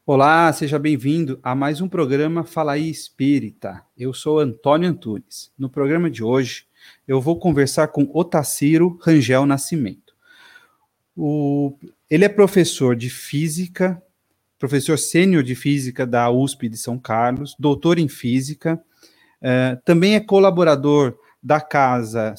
Olá, seja bem-vindo a mais um programa Fala aí Espírita. Eu sou Antônio Antunes. No programa de hoje, eu vou conversar com Otacílio Rangel Nascimento. Ele é professor de física, professor sênior de física da USP de São Carlos, doutor em física, também é colaborador da Casa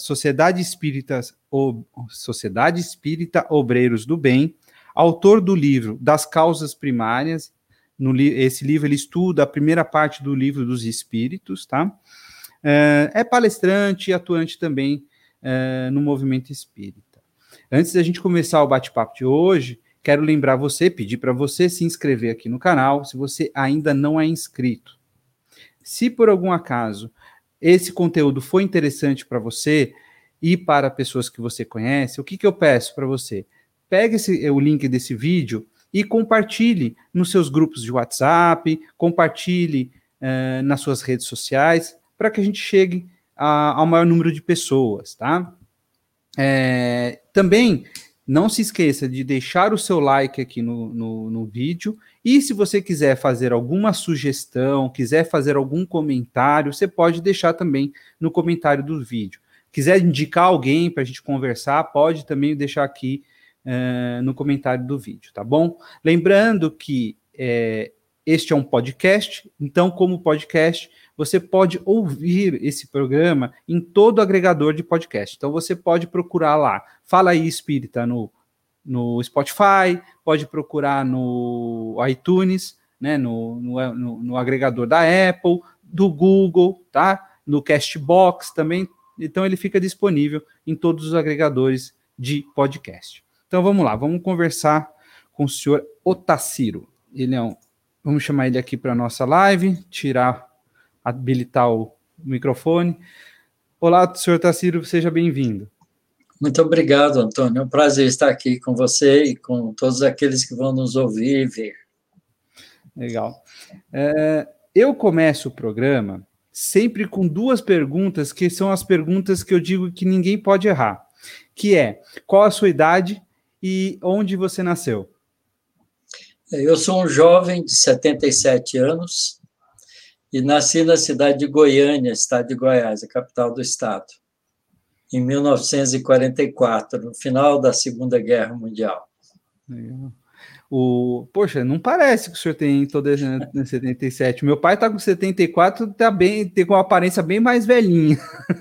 Sociedade Espírita Obreiros do Bem, autor do livro Das Causas Primárias. Esse livro ele estuda a primeira parte do livro dos Espíritos, tá? É palestrante e atuante também no movimento espírita. Antes da gente começar o bate-papo de hoje, quero lembrar você, pedir para você se inscrever aqui no canal, se você ainda não é inscrito. Se por algum acaso esse conteúdo foi interessante para você e para pessoas que você conhece, o que eu peço para você? Pegue o link desse vídeo e compartilhe nos seus grupos de WhatsApp, compartilhe nas suas redes sociais, para que a gente chegue ao maior número de pessoas, tá? Também não se esqueça de deixar o seu like aqui no vídeo, e se você quiser fazer alguma sugestão, quiser fazer algum comentário, você pode deixar também no comentário do vídeo. Quiser indicar alguém para a gente conversar, pode também deixar aqui no comentário do vídeo, tá bom? Lembrando que este é um podcast, então, como podcast, você pode ouvir esse programa em todo agregador de podcast. Então, você pode procurar lá, Fala aí Espírita, no Spotify, pode procurar no iTunes, né, no agregador da Apple, do Google, tá? No Castbox também. Então, ele fica disponível em todos os agregadores de podcast. Então, vamos lá, vamos conversar com o senhor Otacílio. Vamos chamar ele aqui para a nossa live, habilitar o microfone. Olá, senhor Otacílio, seja bem-vindo. Muito obrigado, Antônio. É um prazer estar aqui com você e com todos aqueles que vão nos ouvir e ver. Legal. Eu começo o programa sempre com duas perguntas, que são as perguntas que eu digo que ninguém pode errar, que é, qual a sua idade e onde você nasceu? Eu sou um jovem de 77 anos e nasci na cidade de Goiânia, estado de Goiás, a capital do estado, em 1944, no final da Segunda Guerra Mundial. Poxa, não parece que o senhor tem toda 77. Meu pai tá com 74, tem com uma aparência bem mais velhinha.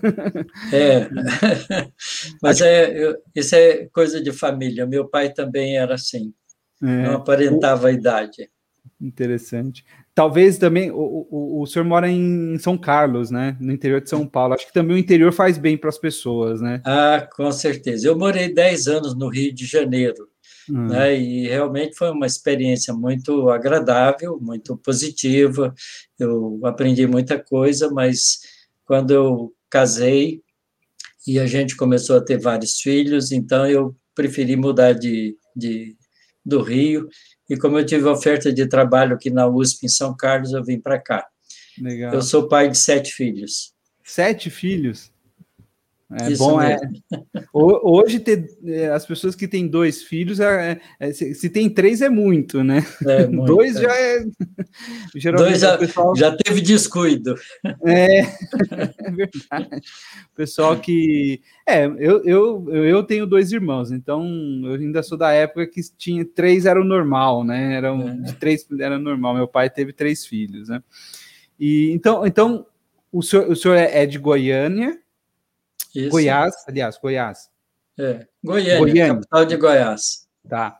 Mas isso é coisa de família. Meu pai também era assim, não aparentava a idade. Interessante. Talvez também o senhor mora em São Carlos, né? No interior de São Paulo. Acho que também o interior faz bem para as pessoas, né? Ah, com certeza. Eu morei 10 anos no Rio de Janeiro, né? E realmente foi uma experiência muito agradável, muito positiva. Eu aprendi muita coisa, mas quando eu casei e a gente começou a ter vários filhos, então eu preferi mudar do Rio. E como eu tive oferta de trabalho aqui na USP, em São Carlos, eu vim para cá. Legal. Eu sou pai de 7 filhos. 7 filhos? Isso bom, mesmo. Hoje, as pessoas que têm 2 filhos, se tem 3 é muito, né? É muito. 2 já é... Geralmente 2 pessoal... já teve descuido. É verdade. O pessoal que... Eu tenho 2 irmãos, então eu ainda sou da época que tinha 3 era o normal, né? De 3 era normal. Meu pai teve 3 filhos, né? E, então o senhor é de Goiânia? Isso. Goiás, aliás, Goiás. Goiânia, capital de Goiás. Tá.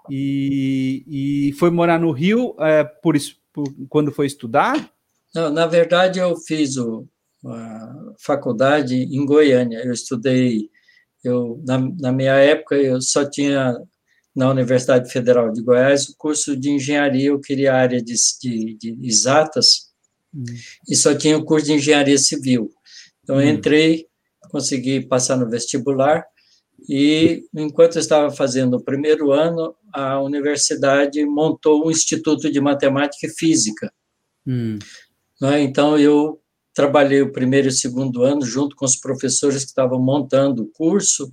E foi morar no Rio quando foi estudar? Não, na verdade, eu fiz a faculdade em Goiânia. Eu estudei, na minha época, eu só tinha, na Universidade Federal de Goiás, o curso de engenharia. Eu queria a área de exatas e só tinha o curso de engenharia civil. Então, eu entrei, consegui passar no vestibular e, enquanto eu estava fazendo o primeiro ano, a universidade montou um instituto de matemática e física. Então, eu trabalhei o primeiro e o segundo ano junto com os professores que estavam montando o curso,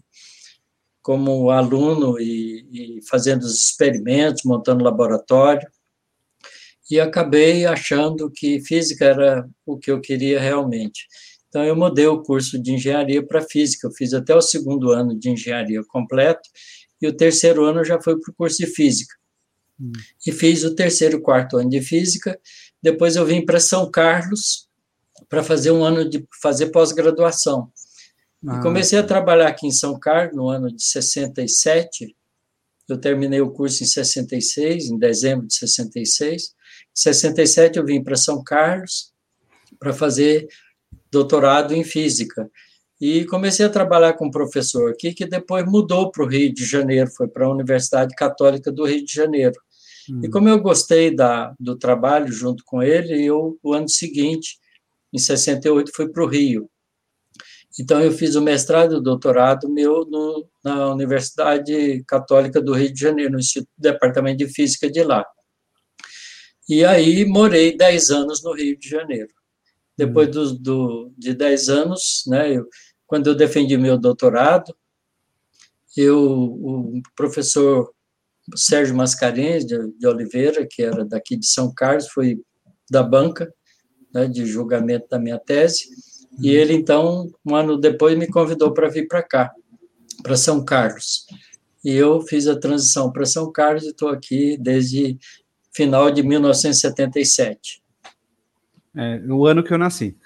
como aluno e fazendo os experimentos, montando laboratório. e acabei achando que física era o que eu queria realmente. Então, eu mudei o curso de engenharia para física. Eu fiz até o segundo ano de engenharia completo, e o terceiro ano eu já fui para o curso de física. E fiz o terceiro e quarto ano de física. Depois eu vim para São Carlos para fazer um ano de fazer pós-graduação. E comecei a trabalhar aqui em São Carlos no ano de 67. Eu terminei o curso em 66, em dezembro de 66. Em 67 eu vim para São Carlos para fazer doutorado em física. E comecei a trabalhar com um professor aqui, que depois mudou para o Rio de Janeiro, foi para a Universidade Católica do Rio de Janeiro. E como eu gostei do trabalho junto com ele, eu, o ano seguinte, em 68, fui para o Rio. Então, eu fiz o mestrado e o doutorado meu na Universidade Católica do Rio de Janeiro, no Departamento de Física de lá. E aí, morei 10 anos no Rio de Janeiro. Depois de 10 anos, né, quando eu defendi meu doutorado, o professor Sérgio Mascarenhas de Oliveira, que era daqui de São Carlos, foi da banca, né, de julgamento da minha tese, e ele, então, um ano depois, me convidou para vir para cá, para São Carlos. E eu fiz a transição para São Carlos e estou aqui desde final de 1977. O ano que eu nasci.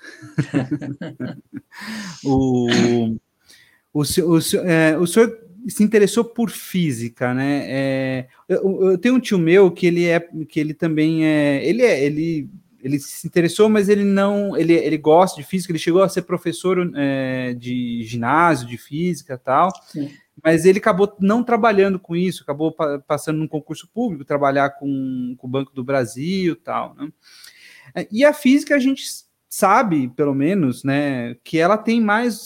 O senhor se interessou por física, né? Eu tenho um tio meu que ele também ele se interessou, mas ele gosta de física. Ele chegou a ser professor de ginásio, de física, e tal. Sim. Mas ele acabou não trabalhando com isso, acabou passando num concurso público, trabalhar com o Banco do Brasil, tal, né? E a física a gente sabe, pelo menos, né, que ela tem mais,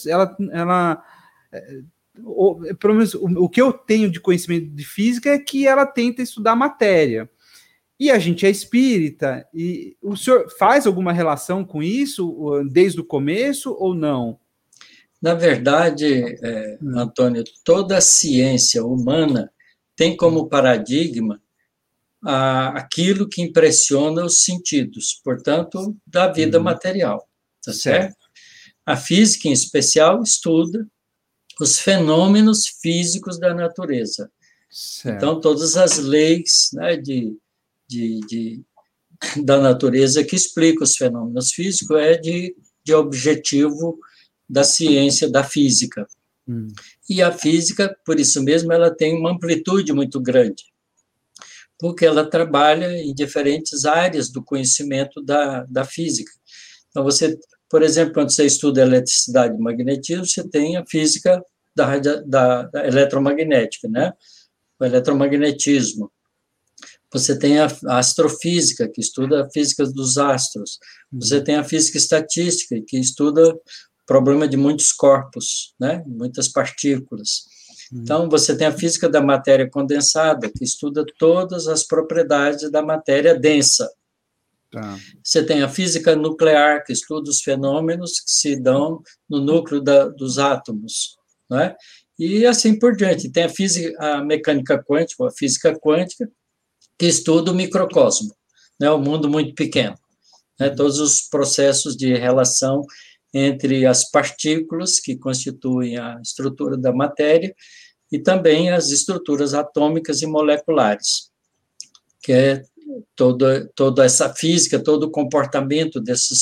pelo menos o que eu tenho de conhecimento de física é que ela tenta estudar matéria. E a gente é espírita, e o senhor faz alguma relação com isso desde o começo ou não? Na verdade, Antônio, toda a ciência humana tem como paradigma aquilo que impressiona os sentidos, portanto, da vida material, tá certo? A física, em especial, estuda os fenômenos físicos da natureza. Certo. Então, todas as leis, né, da natureza que explicam os fenômenos físicos é de objetivo da ciência da física. E a física, por isso mesmo, ela tem uma amplitude muito grande, porque ela trabalha em diferentes áreas do conhecimento da física. Então, você, por exemplo, quando você estuda eletricidade e magnetismo, você tem a física da eletromagnética, né? O eletromagnetismo. Você tem a astrofísica, que estuda a física dos astros. Você tem a física estatística, que estuda o problema de muitos corpos, né? Muitas partículas. Então, você tem a física da matéria condensada, que estuda todas as propriedades da matéria densa. Tá. Você tem a física nuclear, que estuda os fenômenos que se dão no núcleo dos átomos, não é? E assim por diante. Tem a mecânica quântica, a física quântica, que estuda o microcosmo, né? O mundo muito pequeno, né? Todos os processos de relação entre as partículas que constituem a estrutura da matéria e também as estruturas atômicas e moleculares, que é toda essa física, todo o comportamento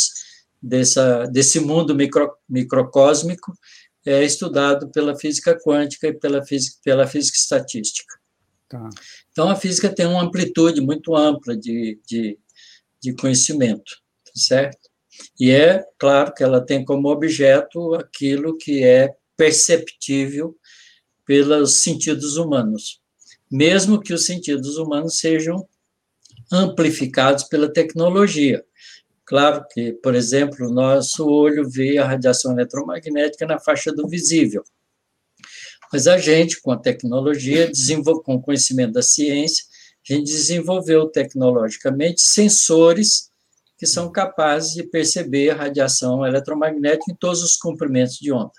desse mundo microcósmico é estudado pela física quântica e pela física estatística. Tá. Então, a física tem uma amplitude muito ampla de conhecimento, certo? E é claro que ela tem como objeto aquilo que é perceptível pelos sentidos humanos, mesmo que os sentidos humanos sejam amplificados pela tecnologia. Claro que, por exemplo, o nosso olho vê a radiação eletromagnética na faixa do visível, mas a gente, com a tecnologia, com o conhecimento da ciência, a gente desenvolveu tecnologicamente sensores que são capazes de perceber a radiação eletromagnética em todos os comprimentos de onda.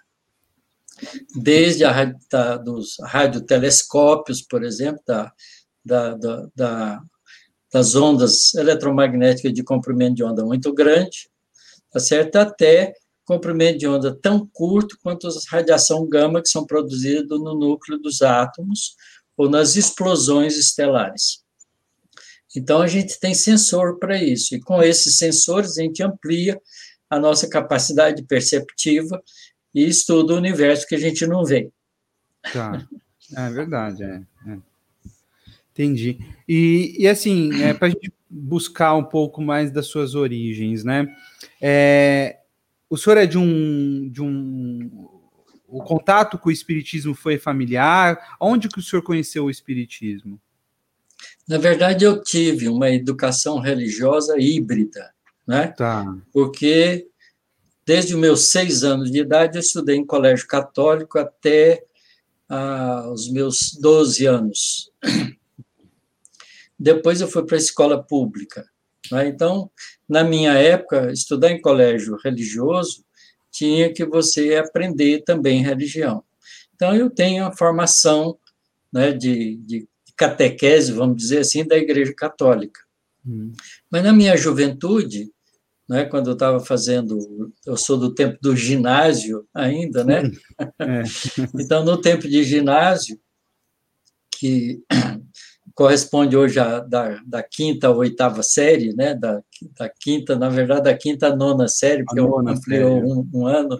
Desde dos radiotelescópios, por exemplo, da das ondas eletromagnéticas de comprimento de onda muito grande, tá certo? Até comprimento de onda tão curto quanto as radiação gama que são produzidas no núcleo dos átomos ou nas explosões estelares. Então, a gente tem sensor para isso, e com esses sensores a gente amplia a nossa capacidade perceptiva e estuda o universo que a gente não vê. Tá, é verdade, Entendi. E assim, para a gente buscar um pouco mais das suas origens, né? O senhor é o contato com o espiritismo foi familiar? Onde que o senhor conheceu o espiritismo? Na verdade, eu tive uma educação religiosa híbrida, né? Tá. Porque desde os meus 6 anos de idade eu estudei em colégio católico até os meus 12 anos. Depois eu fui para a escola pública, né? Então, na minha época, estudar em colégio religioso tinha que você aprender também religião. Então, eu tenho a formação, né, de catequese, vamos dizer assim, da Igreja Católica. Mas na minha juventude, né, quando eu estava fazendo, eu sou do tempo do ginásio ainda, né? Então, no tempo de ginásio, que corresponde hoje da quinta à oitava série, né? Da quinta, na verdade, da quinta à nona série, porque ampliou um ano.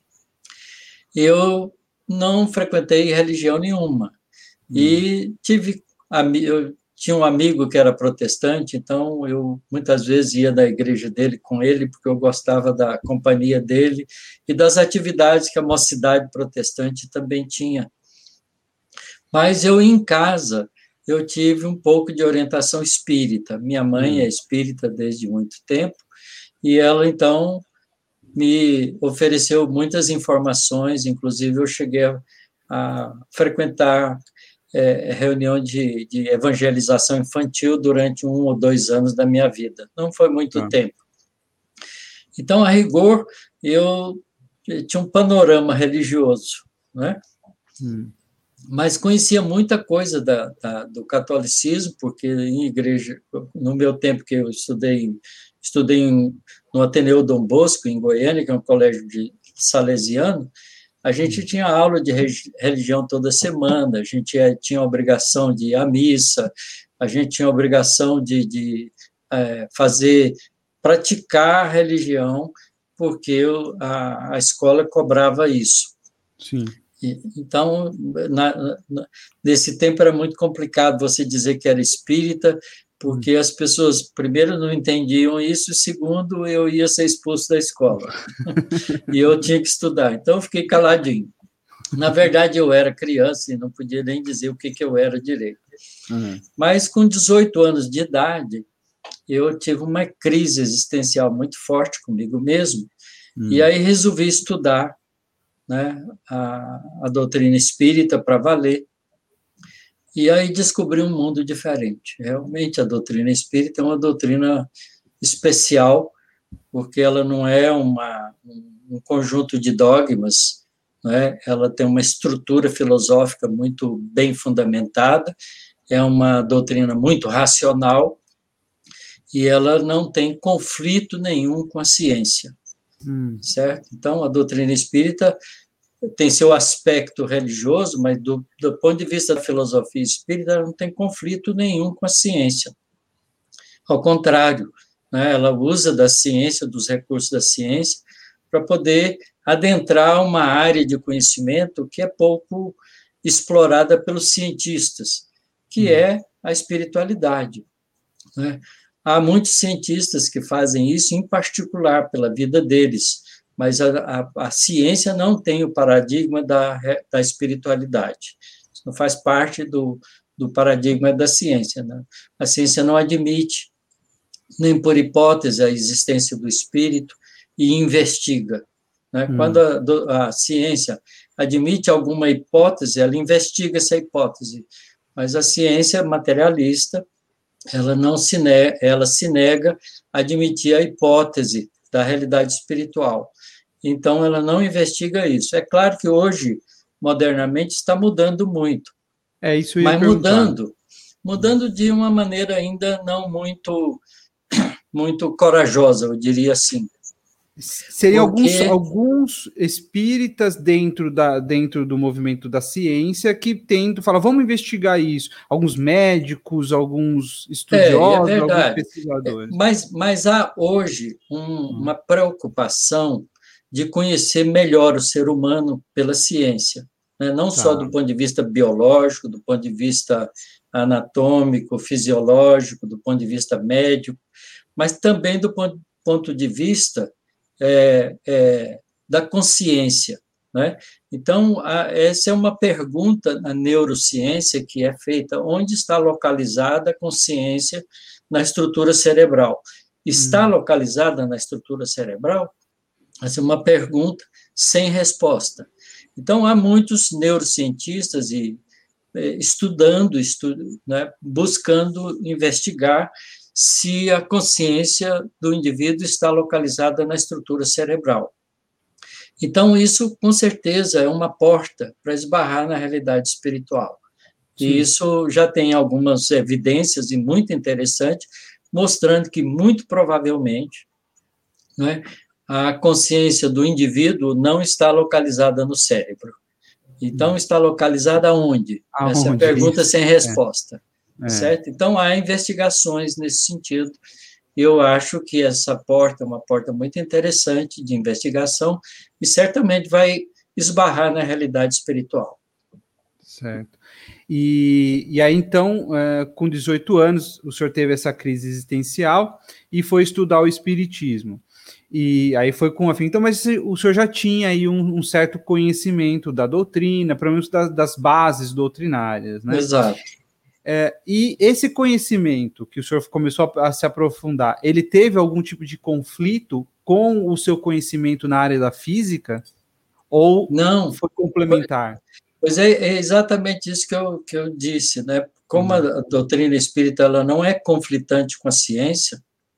Eu não frequentei religião nenhuma. E eu tinha um amigo que era protestante, então eu muitas vezes ia da igreja dele com ele, porque eu gostava da companhia dele e das atividades que a mocidade protestante também tinha. Mas eu, em casa, eu tive um pouco de orientação espírita. Minha mãe é espírita desde muito tempo, e ela, então, me ofereceu muitas informações, inclusive eu cheguei a frequentar reunião de evangelização infantil durante 1 ou 2 anos da minha vida. Não foi muito tempo. Então, a rigor, eu tinha um panorama religioso, né? Mas conhecia muita coisa do catolicismo, porque em igreja, no meu tempo que eu estudei no Ateneu Dom Bosco, em Goiânia, que é um colégio salesiano, a gente tinha aula de religião toda semana, a gente tinha a obrigação de ir à missa, a gente tinha a obrigação de praticar a religião, porque a escola cobrava isso. Sim. Então, nesse tempo era muito complicado você dizer que era espírita, porque as pessoas, primeiro, não entendiam isso, e segundo, eu ia ser expulso da escola. E eu tinha que estudar. Então, eu fiquei caladinho. Na verdade, eu era criança e não podia nem dizer o que eu era direito. Mas, com 18 anos de idade, eu tive uma crise existencial muito forte comigo mesmo, e aí resolvi estudar, né, a doutrina espírita para valer, e aí descobri um mundo diferente. Realmente, a doutrina espírita é uma doutrina especial, porque ela não é um conjunto de dogmas, né? Ela tem uma estrutura filosófica muito bem fundamentada, é uma doutrina muito racional, e ela não tem conflito nenhum com a ciência, certo? Então, a doutrina espírita tem seu aspecto religioso, mas do ponto de vista da filosofia espírita, ela não tem conflito nenhum com a ciência. Ao contrário, né, ela usa da ciência, dos recursos da ciência, para poder adentrar uma área de conhecimento que é pouco explorada pelos cientistas, que é a espiritualidade, né? Há muitos cientistas que fazem isso, em particular pela vida deles, mas a ciência não tem o paradigma da espiritualidade. Isso não faz parte do paradigma da ciência, né? A ciência não admite, nem por hipótese, a existência do espírito e investiga, né? Quando a ciência admite alguma hipótese, ela investiga essa hipótese, mas a ciência materialista, ela se nega a admitir a hipótese da realidade espiritual. Então, ela não investiga isso. É claro que hoje, modernamente, está mudando muito. Isso eu ia mas perguntar. mudando de uma maneira ainda não muito corajosa, eu diria assim. Seriam alguns espíritas dentro do movimento da ciência que tentam falar, vamos investigar isso. Alguns médicos, alguns estudiosos, alguns pesquisadores. Mas há hoje uma preocupação de conhecer melhor o ser humano pela ciência, né? Não só do ponto de vista biológico, do ponto de vista anatômico, fisiológico, do ponto de vista médico, mas também do ponto de vista da consciência, né? Então, essa é uma pergunta na neurociência que é feita: onde está localizada a consciência na estrutura cerebral? Está localizada na estrutura cerebral? Essa é uma pergunta sem resposta. Então, há muitos neurocientistas estudando, né, buscando investigar se a consciência do indivíduo está localizada na estrutura cerebral. Então, isso, com certeza, é uma porta para esbarrar na realidade espiritual. Sim. E isso já tem algumas evidências, e muito interessante, mostrando que, muito provavelmente, né, a consciência do indivíduo não está localizada no cérebro. Então, está localizada onde? Essa é a pergunta isso? Sem resposta. Certo? Então, há investigações nesse sentido. Eu acho que essa porta é uma porta muito interessante de investigação e certamente vai esbarrar na realidade espiritual. Certo. E aí, então, com 18 anos, o senhor teve essa crise existencial e foi estudar o espiritismo. E aí foi com a fim. Então, mas o senhor já tinha aí um certo conhecimento da doutrina, pelo menos das bases doutrinárias, né? Exato. E esse conhecimento que o senhor começou a se aprofundar, ele teve algum tipo de conflito com o seu conhecimento na área da física? Ou não foi complementar? Pois é exatamente isso que eu disse, né? Como a doutrina espírita ela não é conflitante com a ciência,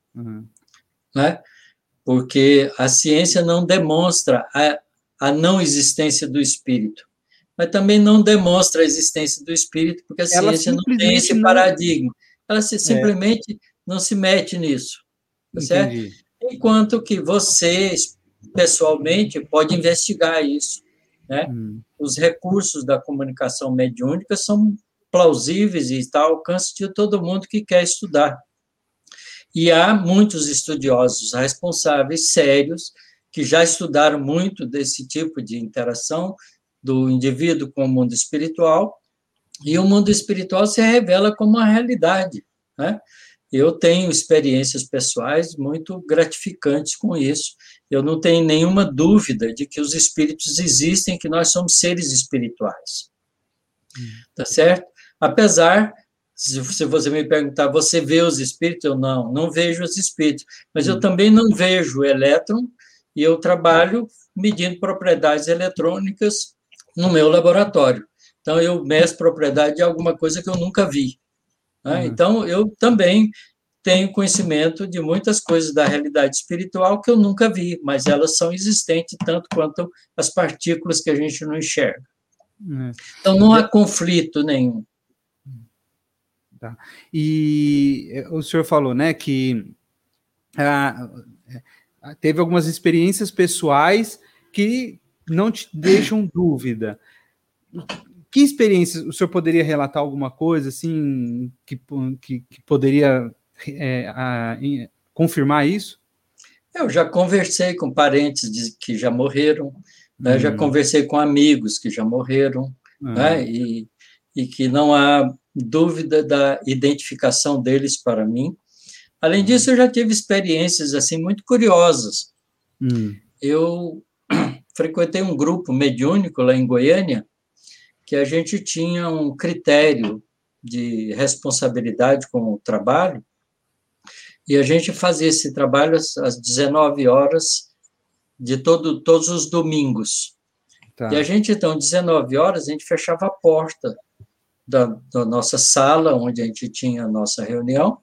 né? Porque a ciência não demonstra a não existência do espírito, mas também não demonstra a existência do espírito, porque a ciência não tem esse paradigma. Ela simplesmente não se mete nisso, tá certo? Enquanto que você, pessoalmente, pode investigar isso, né? Os recursos da comunicação mediúnica são plausíveis e está ao alcance de todo mundo que quer estudar. E há muitos estudiosos responsáveis, sérios, que já estudaram muito desse tipo de interação do indivíduo com o mundo espiritual, e o mundo espiritual se revela como uma realidade, né? Eu tenho experiências pessoais muito gratificantes com isso. Eu não tenho nenhuma dúvida de que os espíritos existem, que nós somos seres espirituais. Tá certo? Apesar, se você me perguntar, você vê os espíritos? Eu não vejo os espíritos. Mas eu também não vejo o elétron, e eu trabalho medindo propriedades eletrônicas no meu laboratório. Então, eu meço propriedade de alguma coisa que eu nunca vi. Né? Então, eu também tenho conhecimento de muitas coisas da realidade espiritual que eu nunca vi, mas elas são existentes tanto quanto as partículas que a gente não enxerga. Então, não há conflito nenhum. Tá. E o senhor falou, né, que teve algumas experiências pessoais que não te deixam dúvida. Que experiências o senhor poderia relatar alguma coisa assim que poderia confirmar isso? Eu já conversei com parentes que já morreram, né? Já conversei com amigos que já morreram, né? E que não há dúvida da identificação deles para mim. Além disso, eu já tive experiências assim muito curiosas. Eu frequentei um grupo mediúnico lá em Goiânia, que a gente tinha um critério de responsabilidade com o trabalho, e a gente fazia esse trabalho às 19 horas de todos os domingos. Tá. E a gente, então, 19 horas, a gente fechava a porta da nossa sala, onde a gente tinha a nossa reunião,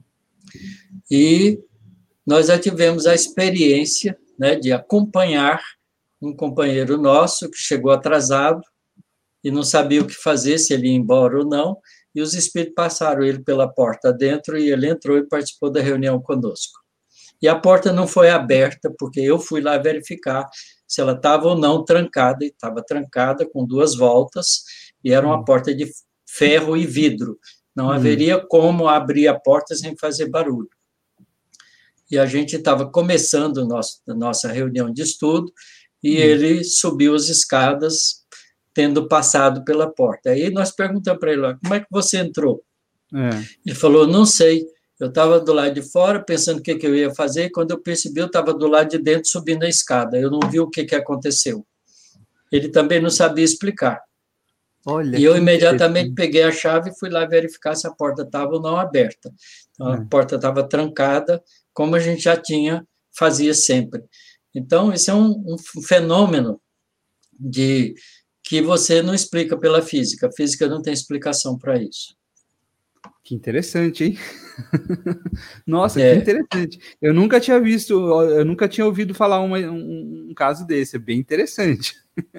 e nós já tivemos a experiência, né, de acompanhar um companheiro nosso que chegou atrasado e não sabia o que fazer, se ele ia embora ou não, e os espíritos passaram ele pela porta dentro e ele entrou e participou da reunião conosco. E a porta não foi aberta, porque eu fui lá verificar se ela estava ou não trancada, e estava trancada com 2 voltas, e era uma porta de ferro e vidro. Não haveria como abrir a porta sem fazer barulho. E a gente estava começando a nossa reunião de estudo, e ele subiu as escadas, tendo passado pela porta. Aí nós perguntamos para ele, como é que você entrou? Ele falou, não sei, eu estava do lado de fora, pensando o que eu ia fazer, e quando eu percebi, eu estava do lado de dentro, subindo a escada. Eu não vi o que aconteceu. Ele também não sabia explicar. Olha, e eu imediatamente peguei a chave e fui lá verificar se a porta estava ou não aberta. Então, a porta estava trancada, como a gente já fazia sempre. Então, isso é um fenômeno que você não explica pela física. A física não tem explicação para isso. Que interessante, hein? Nossa, que interessante. Eu nunca tinha visto, eu nunca tinha ouvido falar um caso desse. É bem interessante.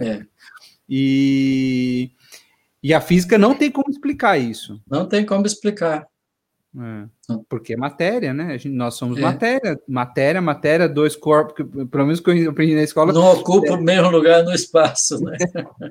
E a física não tem como explicar isso. Não tem como explicar. Porque é matéria, né? Nós somos matéria, 2 corpos, que, pelo menos que eu aprendi na escola. Não ocupa o mesmo lugar no espaço, né?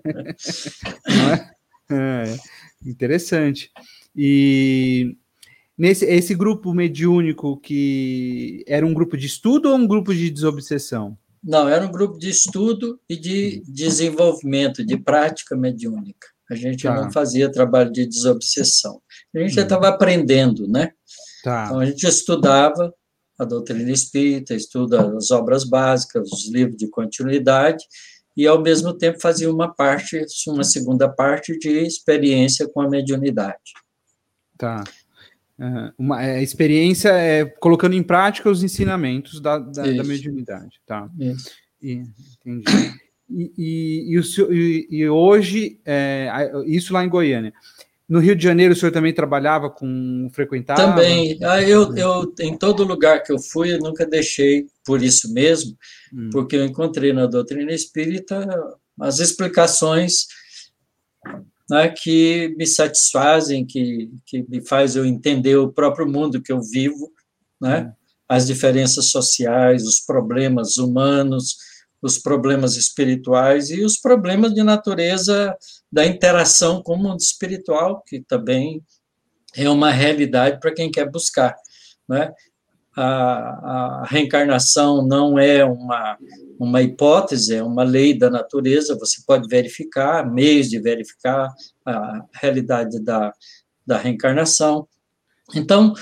Não é? Interessante. E esse grupo mediúnico, que era um grupo de estudo ou um grupo de desobsessão? Não, era um grupo de estudo e de desenvolvimento, de prática mediúnica. A gente não fazia trabalho de desobsessão. A gente já estava aprendendo, né? Então, a gente estudava a doutrina espírita, estuda as obras básicas, os livros de continuidade, e, ao mesmo tempo, fazia uma segunda parte de experiência com a mediunidade. Uma experiência colocando em prática os ensinamentos da mediunidade. Entendi. E hoje, isso lá em Goiânia. No Rio de Janeiro, o senhor também trabalhava frequentava? Também. Eu, em todo lugar que eu fui, eu nunca deixei por isso mesmo, porque eu encontrei na doutrina espírita as explicações, né, que me satisfazem, que me faz eu entender o próprio mundo que eu vivo, né? As diferenças sociais, os problemas humanos, os problemas espirituais e os problemas de natureza da interação com o mundo espiritual, que também é uma realidade para quem quer buscar, né? A reencarnação não é uma hipótese, é uma lei da natureza, você pode verificar, meios de verificar a realidade da reencarnação. Então,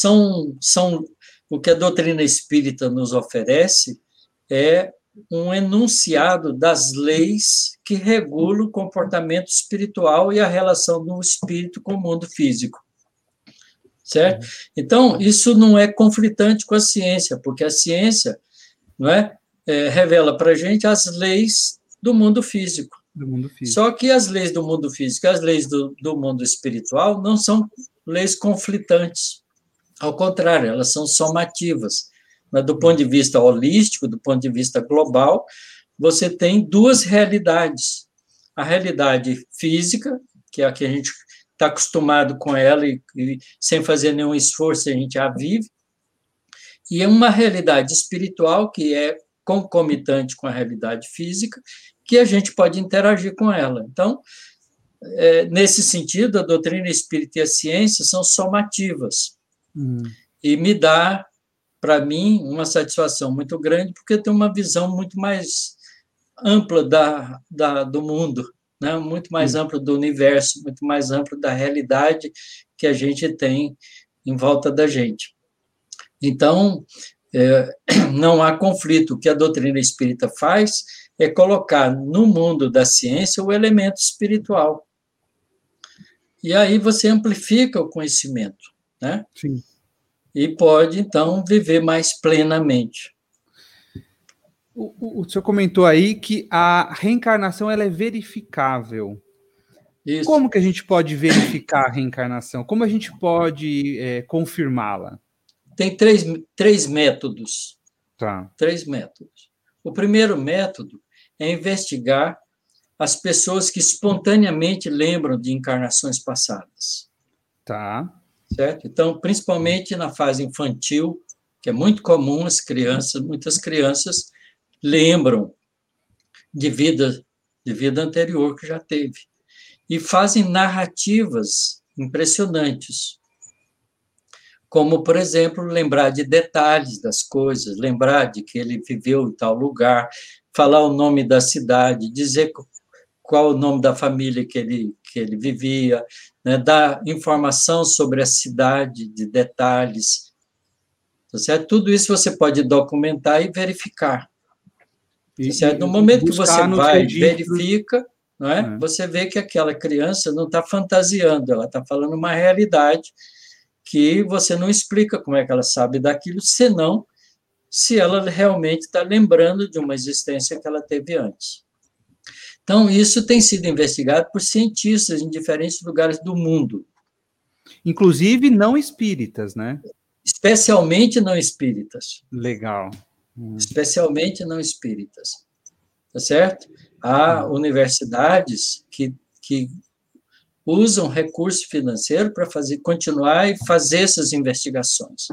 o que a doutrina espírita nos oferece é um enunciado das leis que regulam o comportamento espiritual e a relação do espírito com o mundo físico. Certo? Então, isso não é conflitante com a ciência, porque a ciência, não revela para a gente as leis do mundo físico. Só que as leis do mundo físico e as leis do mundo espiritual não são leis conflitantes. Ao contrário, elas são somativas. Do ponto de vista holístico, do ponto de vista global, você tem 2 realidades. A realidade física, que é a que a gente está acostumado com ela e sem fazer nenhum esforço a gente a vive, e é uma realidade espiritual que é concomitante com a realidade física, que a gente pode interagir com ela. Então, nesse sentido, a doutrina espírita e a ciência são somativas. E me dá, para mim, uma satisfação muito grande, porque tem uma visão muito mais ampla do mundo, né? Muito mais amplo do universo, muito mais amplo da realidade que a gente tem em volta da gente. Então, não há conflito. O que a doutrina espírita faz é colocar no mundo da ciência o elemento espiritual. E aí você amplifica o conhecimento, né? Sim. E pode, então, viver mais plenamente. O senhor comentou aí que a reencarnação ela é verificável. Isso. Como que a gente pode verificar a reencarnação? Como a gente pode confirmá-la? Tem três métodos. 3 métodos. O primeiro método é investigar as pessoas que espontaneamente lembram de encarnações passadas. Tá. Certo? Então, principalmente na fase infantil, que é muito comum muitas crianças lembram de vida anterior que já teve. E fazem narrativas impressionantes, como, por exemplo, lembrar de detalhes das coisas, lembrar de que ele viveu em tal lugar, falar o nome da cidade, dizer qual o nome da família que ele vivia, né, dar informação sobre a cidade, de detalhes. Tá certo? Tudo isso você pode documentar e verificar. Tá certo? No momento que você buscar nos vai, registros. verifica, não é? Você vê que aquela criança não está fantasiando, ela está falando uma realidade que você não explica como é que ela sabe daquilo, senão se ela realmente está lembrando de uma existência que ela teve antes. Então, isso tem sido investigado por cientistas em diferentes lugares do mundo. Inclusive não espíritas, né? Especialmente não espíritas. Legal. Especialmente não espíritas. Tá certo? Há universidades que usam recurso financeiro para continuar e fazer essas investigações,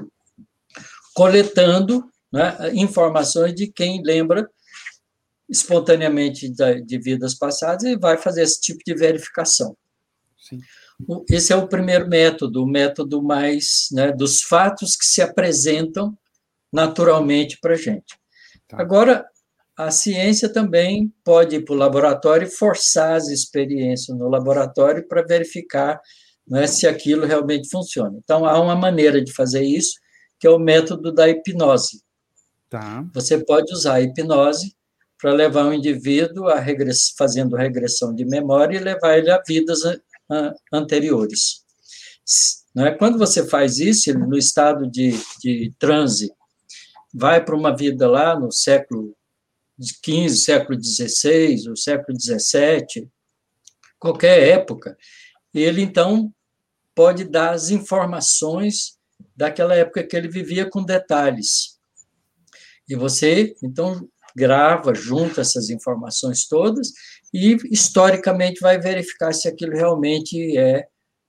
coletando, né, informações de quem lembra espontaneamente de vidas passadas e vai fazer esse tipo de verificação. Sim. Esse é o primeiro método, o método mais, né, dos fatos que se apresentam naturalmente para a gente. Tá. Agora, a ciência também pode ir para o laboratório e forçar as experiências no laboratório para verificar, né, se aquilo realmente funciona. Então, há uma maneira de fazer isso, que é o método da hipnose. Tá. Você pode usar a hipnose para levar um indivíduo fazendo regressão de memória e levar ele a vidas anteriores. Não é? Quando você faz isso, ele, no estado de transe, vai para uma vida lá no século XV, século XVI, ou século XVII, qualquer época, ele, então, pode dar as informações daquela época que ele vivia com detalhes. E você, então, grava, junta essas informações todas e, historicamente, vai verificar se aquilo realmente é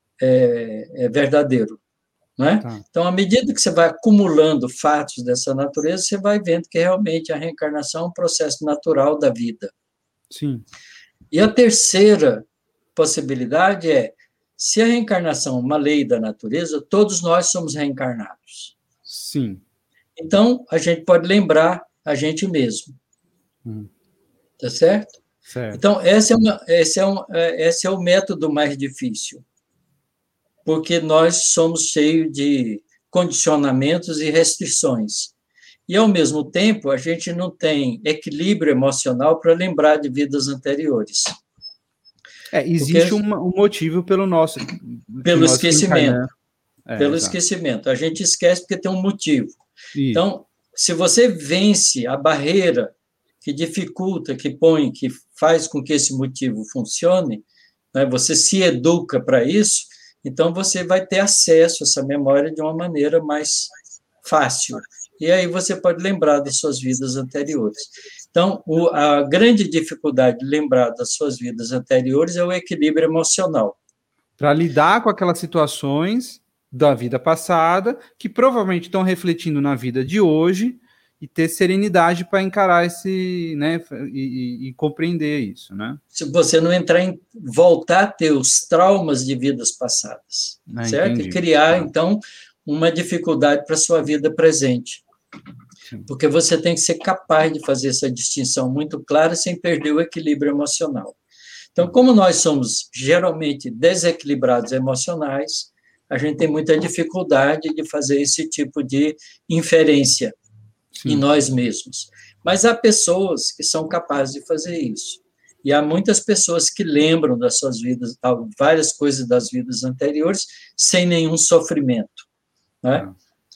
verdadeiro. Não é? Tá. Então, à medida que você vai acumulando fatos dessa natureza, você vai vendo que realmente a reencarnação é um processo natural da vida. Sim. E a terceira possibilidade é, se a reencarnação é uma lei da natureza, todos nós somos reencarnados. Sim. Então, a gente pode lembrar a gente mesmo. Tá certo? Certo. Então, esse é o método mais difícil, porque nós somos cheios de condicionamentos e restrições. E, ao mesmo tempo, a gente não tem equilíbrio emocional para lembrar de vidas anteriores. Existe um motivo pelo nosso... Pelo esquecimento. Pelo esquecimento. A gente esquece porque tem um motivo. Isso. Então, se você vence a barreira que dificulta, que faz com que esse motivo funcione, né, você se educa para isso, então você vai ter acesso a essa memória de uma maneira mais fácil. E aí você pode lembrar das suas vidas anteriores. Então, a grande dificuldade de lembrar das suas vidas anteriores é o equilíbrio emocional. Para lidar com aquelas situações da vida passada, que provavelmente estão refletindo na vida de hoje, e ter serenidade para encarar esse, né, e compreender isso, né? Se você não voltar a ter os traumas de vidas passadas, certo? Entendi. E criar, então, uma dificuldade para a sua vida presente. Sim. Porque você tem que ser capaz de fazer essa distinção muito clara sem perder o equilíbrio emocional. Então, como nós somos geralmente desequilibrados emocionais, a gente tem muita dificuldade de fazer esse tipo de inferência. Sim. Em nós mesmos. Mas há pessoas que são capazes de fazer isso. E há muitas pessoas que lembram das suas vidas, várias coisas das vidas anteriores, sem nenhum sofrimento. Né?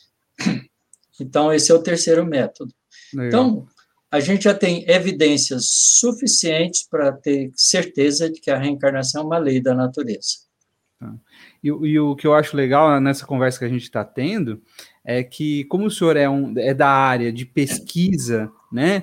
Então, esse é o terceiro método. Legal. Então, a gente já tem evidências suficientes para ter certeza de que a reencarnação é uma lei da natureza. E o que eu acho legal nessa conversa que a gente está tendo é que, como o senhor é da área de pesquisa, né,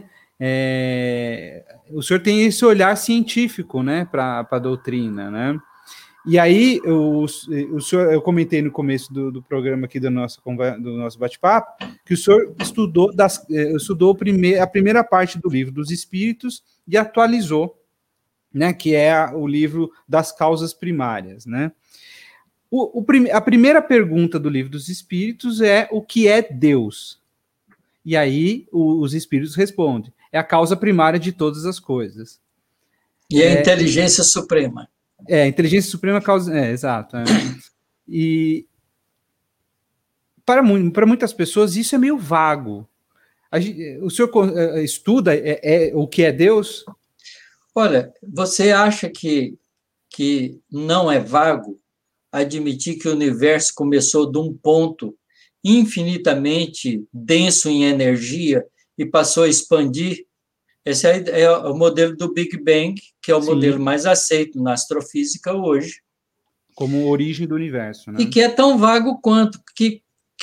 o senhor tem esse olhar científico, né, para a doutrina, né, E aí, o senhor, eu comentei no começo do programa aqui do nosso bate-papo, que o senhor estudou a primeira parte do livro dos Espíritos e atualizou, né, que é o livro das causas primárias, né? A primeira pergunta do livro dos Espíritos é: o que é Deus? E aí os Espíritos respondem: é a causa primária de todas as coisas. E a inteligência suprema. A inteligência suprema causa. Exato. E para muitas pessoas isso é meio vago. O senhor estuda o que é Deus? Olha, você acha que não é vago admitir que o universo começou de um ponto infinitamente denso em energia e passou a expandir? Esse é o modelo do Big Bang, que é o modelo mais aceito na astrofísica hoje. Como origem do universo, né? E que é tão vago quanto que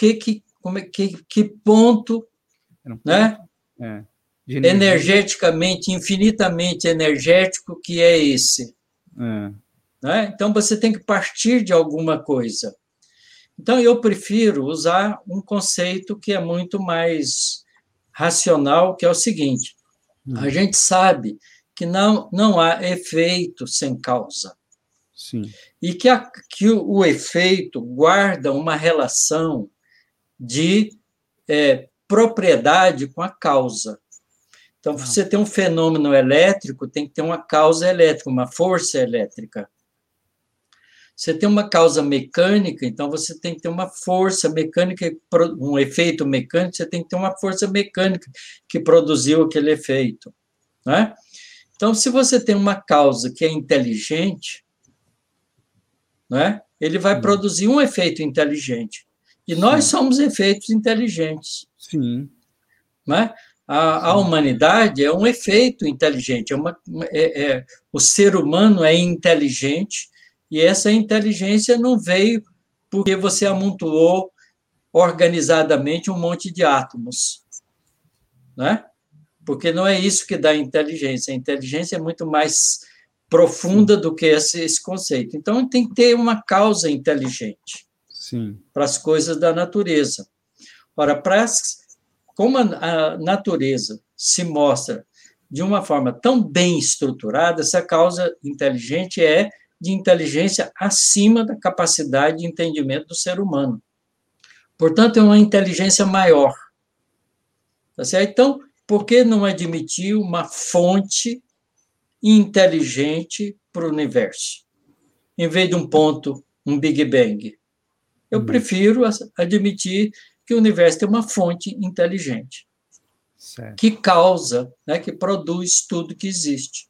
ponto, né? Energeticamente, infinitamente energético que é esse. Né? Então, você tem que partir de alguma coisa. Então, eu prefiro usar um conceito que é muito mais racional, que é o seguinte: a gente sabe que não há efeito sem causa. Sim. E que o efeito guarda uma relação de propriedade com a causa. Então, você tem um fenômeno elétrico, tem que ter uma causa elétrica, uma força elétrica. Você tem uma causa mecânica, então você tem que ter uma força mecânica, um efeito mecânico, você tem que ter uma força mecânica que produziu aquele efeito. Né? Então, se você tem uma causa que é inteligente, né, ele vai produzir um efeito inteligente. E nós somos efeitos inteligentes. Sim. Né? A humanidade é um efeito inteligente. O ser humano é inteligente, e essa inteligência não veio porque você amontoou organizadamente um monte de átomos. Né? Porque não é isso que dá inteligência. A inteligência é muito mais profunda do que esse conceito. Então, tem que ter uma causa inteligente para as coisas da natureza. Ora, como a natureza se mostra de uma forma tão bem estruturada, essa causa inteligente é de inteligência acima da capacidade de entendimento do ser humano. Portanto, é uma inteligência maior. Tá certo? Então, por que não admitir uma fonte inteligente para o universo, em vez de um ponto, um Big Bang? Eu prefiro admitir que o universo tem uma fonte inteligente, que causa, né, que produz tudo que existe.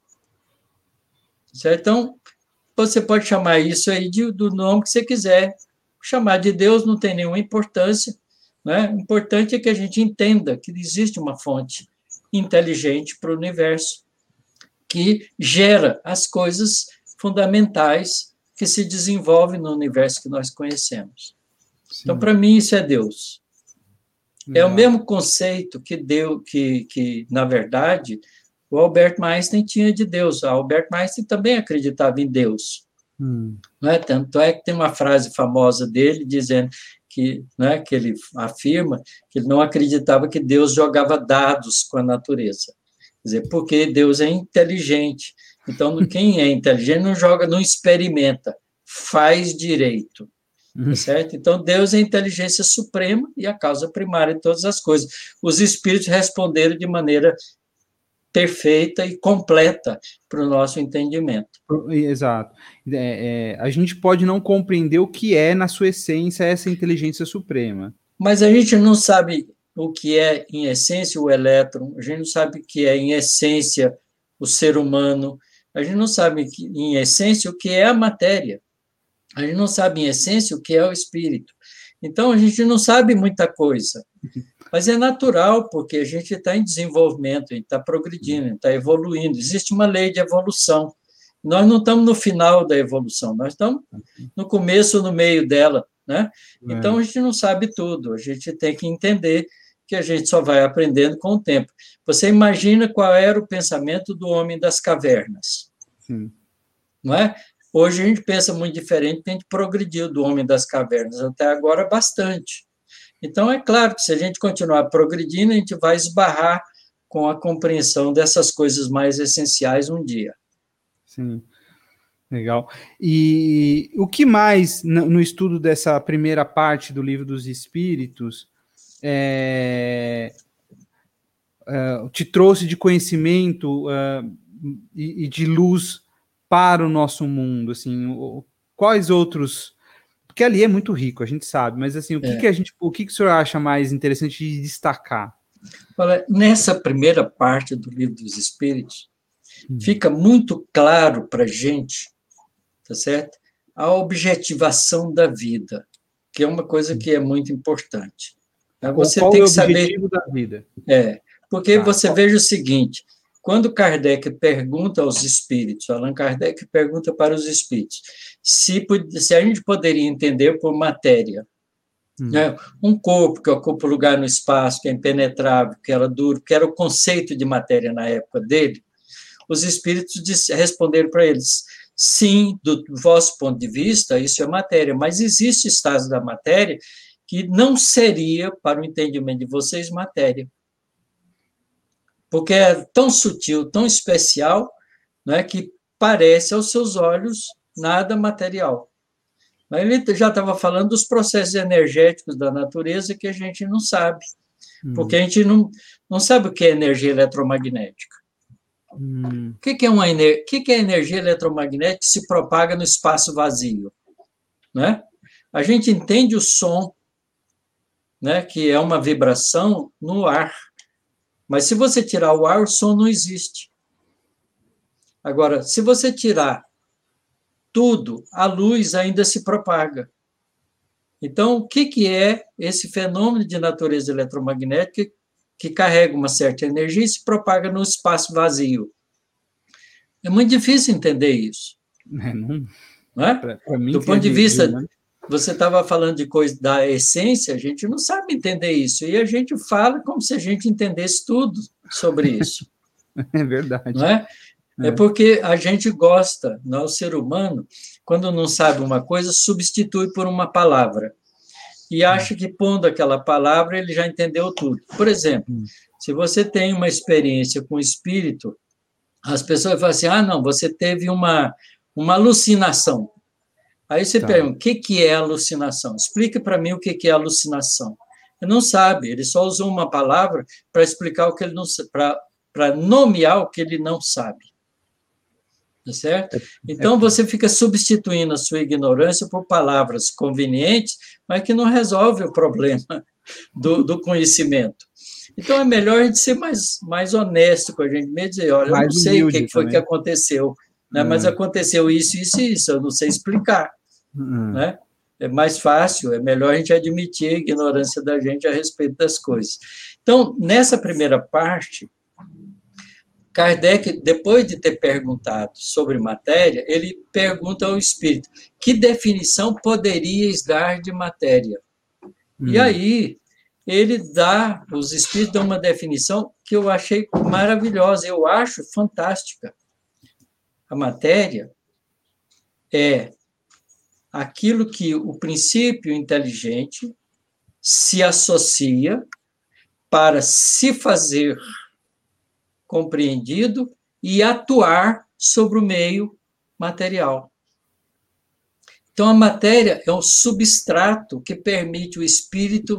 Certo? Então, você pode chamar isso aí do nome que você quiser. Chamar de Deus não tem nenhuma importância. Né? O importante é que a gente entenda que existe uma fonte inteligente para o universo, que gera as coisas fundamentais que se desenvolvem no universo que nós conhecemos. Então, para mim, isso é Deus. É o mesmo conceito que, na verdade, o Albert Einstein tinha de Deus. O Albert Einstein também acreditava em Deus. Não é? Tanto é que tem uma frase famosa dele dizendo que, né, que ele afirma que ele não acreditava que Deus jogava dados com a natureza. Quer dizer, porque Deus é inteligente. Então, quem é inteligente não joga, não experimenta, faz direito. Tá certo? Então, Deus é a inteligência suprema e a causa primária de todas as coisas. Os espíritos responderam de maneira perfeita e completa para o nosso entendimento. Exato. A gente pode não compreender o que é, na sua essência, essa inteligência suprema. Mas a gente não sabe o que é, em essência, o elétron, a gente não sabe o que é, em essência, o ser humano, a gente não sabe, em essência, o que é a matéria. A gente não sabe, em essência, o que é o espírito. Então, a gente não sabe muita coisa. Mas é natural, porque a gente está em desenvolvimento, a gente está progredindo, está evoluindo. Existe uma lei de evolução. Nós não estamos no final da evolução, nós estamos no começo ou no meio dela. Né? Então, a gente não sabe tudo. A gente tem que entender que a gente só vai aprendendo com o tempo. Você imagina qual era o pensamento do homem das cavernas. Sim. Não é? Hoje a gente pensa muito diferente, porque a gente progrediu do homem das cavernas até agora bastante. Então, é claro que se a gente continuar progredindo, a gente vai esbarrar com a compreensão dessas coisas mais essenciais um dia. Sim, legal. E o que mais, no estudo dessa primeira parte do Livro dos Espíritos, te trouxe de conhecimento e de luz para o nosso mundo? Assim, quais outros... Porque ali é muito rico, a gente sabe, mas assim, o que o senhor acha mais interessante de destacar? Olha, nessa primeira parte do Livro dos Espíritos, fica muito claro para a gente, tá certo? A objetivação da vida, que é uma coisa que é muito importante. Você qual tem é o que saber... objetivo da vida? Porque você veja o seguinte, quando Kardec pergunta aos espíritos, Allan Kardec pergunta para os espíritos, se a gente poderia entender por matéria, né, um corpo que ocupa lugar no espaço, que é impenetrável, que era duro, que era o conceito de matéria na época dele, os espíritos responderam para eles, sim, do vosso ponto de vista, isso é matéria, mas existe estados da matéria que não seria, para o entendimento de vocês, matéria. Porque é tão sutil, tão especial, né, que parece aos seus olhos nada material. Mas ele já estava falando dos processos energéticos da natureza que a gente não sabe, porque a gente não sabe o que é energia eletromagnética. O que é energia eletromagnética que se propaga no espaço vazio? Né? A gente entende o som, né, que é uma vibração no ar. Mas se você tirar o ar, o som não existe. Agora, se você tirar tudo, a luz ainda se propaga. Então, o que é esse fenômeno de natureza eletromagnética que carrega uma certa energia e se propaga no espaço vazio? É muito difícil entender isso. Não é? Pra mim, do ponto de vista, você estava falando de coisa da essência, a gente não sabe entender isso. E a gente fala como se a gente entendesse tudo sobre isso. É verdade. Não é? É porque a gente gosta, o ser humano, quando não sabe uma coisa, substitui por uma palavra. E acha que, pondo aquela palavra, ele já entendeu tudo. Por exemplo, se você tem uma experiência com o espírito, as pessoas falam assim, não, você teve uma alucinação. Aí você pergunta, o que é alucinação? Explica para mim o que é alucinação. Ele não sabe, ele só usou uma palavra para explicar o que ele não sabe, para nomear o que ele não sabe. Tá certo? Então, você fica substituindo a sua ignorância por palavras convenientes, mas que não resolve o problema do conhecimento. Então, é melhor a gente ser mais honesto com a gente mesmo, dizer, olha, eu não sei o que foi que aconteceu, né? Mas aconteceu isso, isso e isso, eu não sei explicar. Né? É mais fácil, é melhor a gente admitir a ignorância da gente a respeito das coisas. Então, nessa primeira parte, Kardec, depois de ter perguntado sobre matéria, ele pergunta ao espírito, que definição poderíeis dar de matéria? E aí, os espíritos dão uma definição que eu achei maravilhosa, eu acho fantástica. A matéria é aquilo que o princípio inteligente se associa para se fazer compreendido e atuar sobre o meio material. Então, a matéria é um substrato que permite o espírito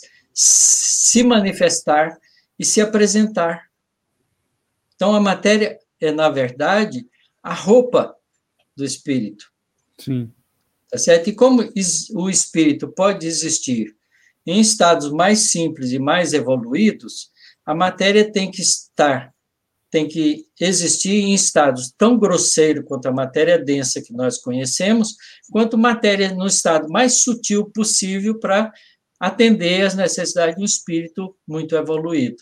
se manifestar e se apresentar. Então, a matéria é, na verdade, a roupa do espírito. Sim. Tá certo? E como o espírito pode existir em estados mais simples e mais evoluídos, a matéria tem que existir em estados tão grosseiros quanto a matéria densa que nós conhecemos, quanto matéria no estado mais sutil possível para atender às necessidades de um espírito muito evoluído.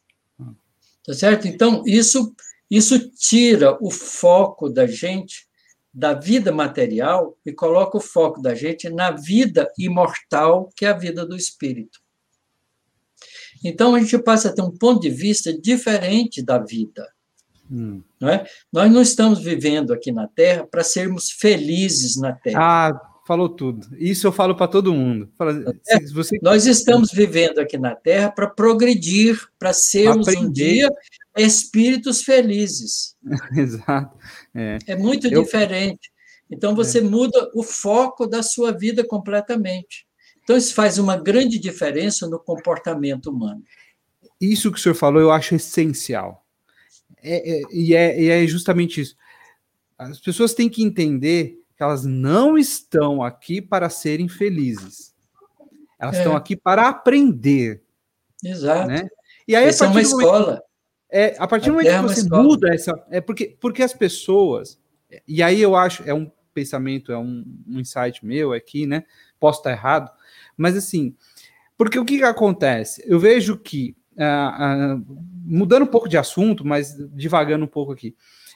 Tá certo? Então, isso tira o foco da gente da vida material e coloca o foco da gente na vida imortal, que é a vida do espírito. Então, a gente passa a ter um ponto de vista diferente da vida. Não é? Nós não estamos vivendo aqui na Terra para sermos felizes na Terra. Ah, falou tudo. Isso eu falo para todo mundo. Se você... Nós estamos vivendo aqui na Terra para progredir, para sermos aprender. Um dia espíritos felizes. Exato. É muito diferente. Então, você muda o foco da sua vida completamente. Então, isso faz uma grande diferença no comportamento humano. Isso que o senhor falou, eu acho essencial. E é justamente isso. As pessoas têm que entender que elas não estão aqui para serem felizes. Elas estão aqui para aprender. Exato. Né? E aí, essa é uma escola. A partir do momento que você muda essa... porque as pessoas... E aí eu acho... É um pensamento, é um insight meu aqui, né? Posso estar errado. Mas assim... Porque o que acontece? Eu vejo que... mudando um pouco de assunto, mas divagando um pouco aqui...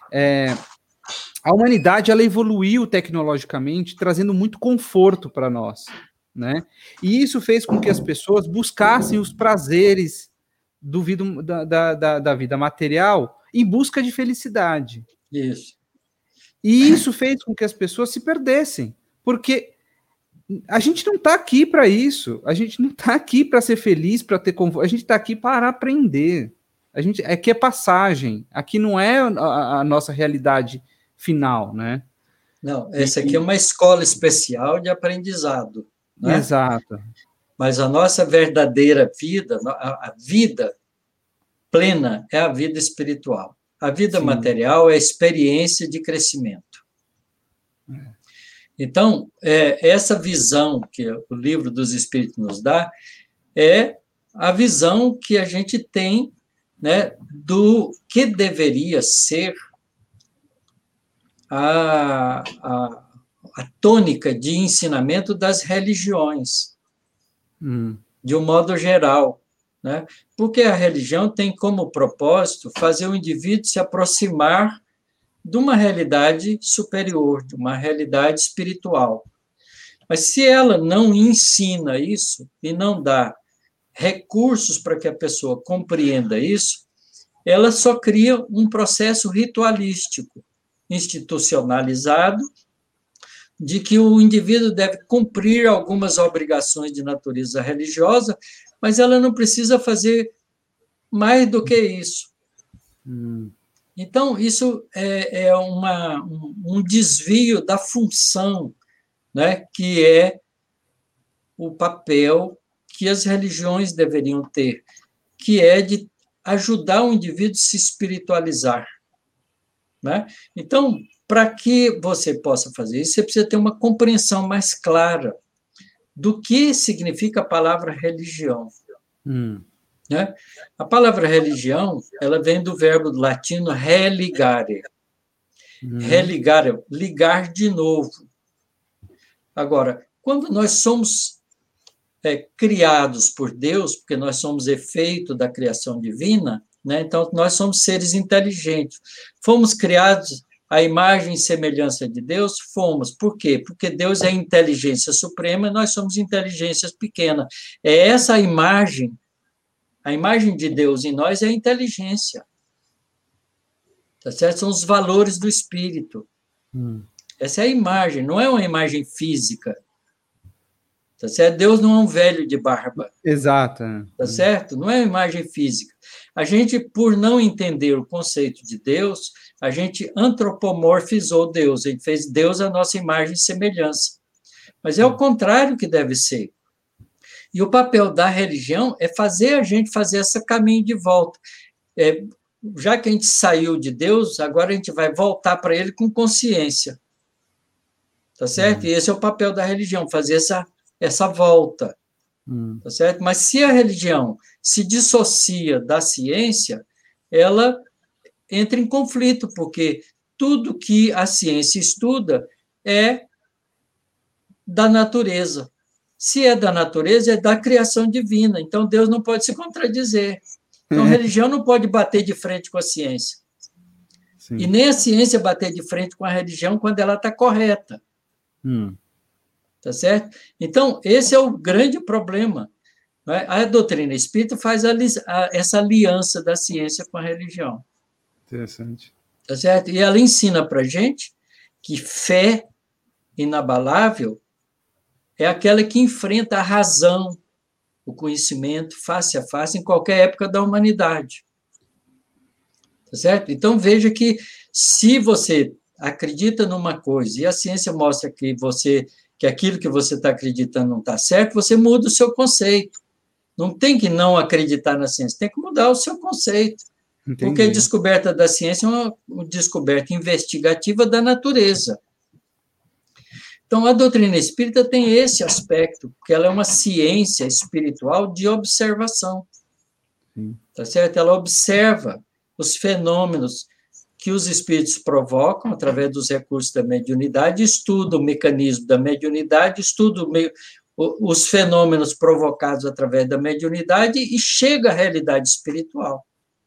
a humanidade, ela evoluiu tecnologicamente, trazendo muito conforto para nós, né? E isso fez com que as pessoas buscassem os prazeres da vida material em busca de felicidade. Isso. E isso fez com que as pessoas se perdessem, porque a gente não está aqui para isso, a gente não está aqui para ser feliz, para ter conforto, a gente está aqui para aprender. Aqui é passagem, aqui não é a nossa realidade final, né? Não, essa aqui é uma escola especial de aprendizado, né? Exato. Mas a nossa verdadeira vida, a vida plena é a vida espiritual. A vida material é a experiência de crescimento. Então, essa visão que o Livro dos Espíritos nos dá é a visão que a gente tem, né, do que deveria ser a tônica de ensinamento das religiões, de um modo geral, né? Porque a religião tem como propósito fazer o indivíduo se aproximar de uma realidade superior, de uma realidade espiritual. Mas se ela não ensina isso e não dá recursos para que a pessoa compreenda isso, ela só cria um processo ritualístico, institucionalizado, de que o indivíduo deve cumprir algumas obrigações de natureza religiosa, mas ela não precisa fazer mais do que isso. Então, isso é um desvio da função, né, que é o papel que as religiões deveriam ter, que é de ajudar o indivíduo a se espiritualizar. Né? Então, para que você possa fazer isso, você precisa ter uma compreensão mais clara do que significa a palavra religião. Né? A palavra religião, ela vem do verbo latino religare. Religare, ligar de novo. Agora, quando nós somos criados por Deus, porque nós somos efeito da criação divina, né? Então, nós somos seres inteligentes. Fomos criados à imagem e semelhança de Deus? Fomos. Por quê? Porque Deus é inteligência suprema e nós somos inteligências pequenas. É essa a imagem de Deus em nós é a inteligência. Tá certo? São os valores do espírito. Essa é a imagem, não é uma imagem física. Tá certo? Deus não é um velho de barba. Exato. Tá certo? Não é uma imagem física. A gente, por não entender o conceito de Deus, a gente antropomorfizou Deus, a gente fez Deus a nossa imagem e semelhança. Mas é o contrário que deve ser. E o papel da religião é fazer a gente fazer esse caminho de volta. Já que a gente saiu de Deus, agora a gente vai voltar para ele com consciência. Tá certo? E esse é o papel da religião, fazer essa volta. Tá certo? Mas se a religião se dissocia da ciência, ela entra em conflito, porque tudo que a ciência estuda é da natureza. Se é da natureza, é da criação divina. Então, Deus não pode se contradizer. Então, a religião não pode bater de frente com a ciência. Sim. E nem a ciência bater de frente com a religião quando ela está correta. Tá certo? Então, esse é o grande problema. A doutrina espírita faz essa aliança da ciência com a religião. Interessante. Tá certo? E ela ensina para gente que fé inabalável é aquela que enfrenta a razão, o conhecimento face a face em qualquer época da humanidade. Tá certo? Então veja que se você acredita numa coisa e a ciência mostra que aquilo que você está acreditando não está certo, você muda o seu conceito. Não tem que não acreditar na ciência, tem que mudar o seu conceito. Entendi. Porque a descoberta da ciência é uma descoberta investigativa da natureza. Então, a doutrina espírita tem esse aspecto, porque ela é uma ciência espiritual de observação. Tá certo? Ela observa os fenômenos que os espíritos provocam através dos recursos da mediunidade, estuda o mecanismo da mediunidade, estuda os fenômenos provocados através da mediunidade e chega à realidade espiritual.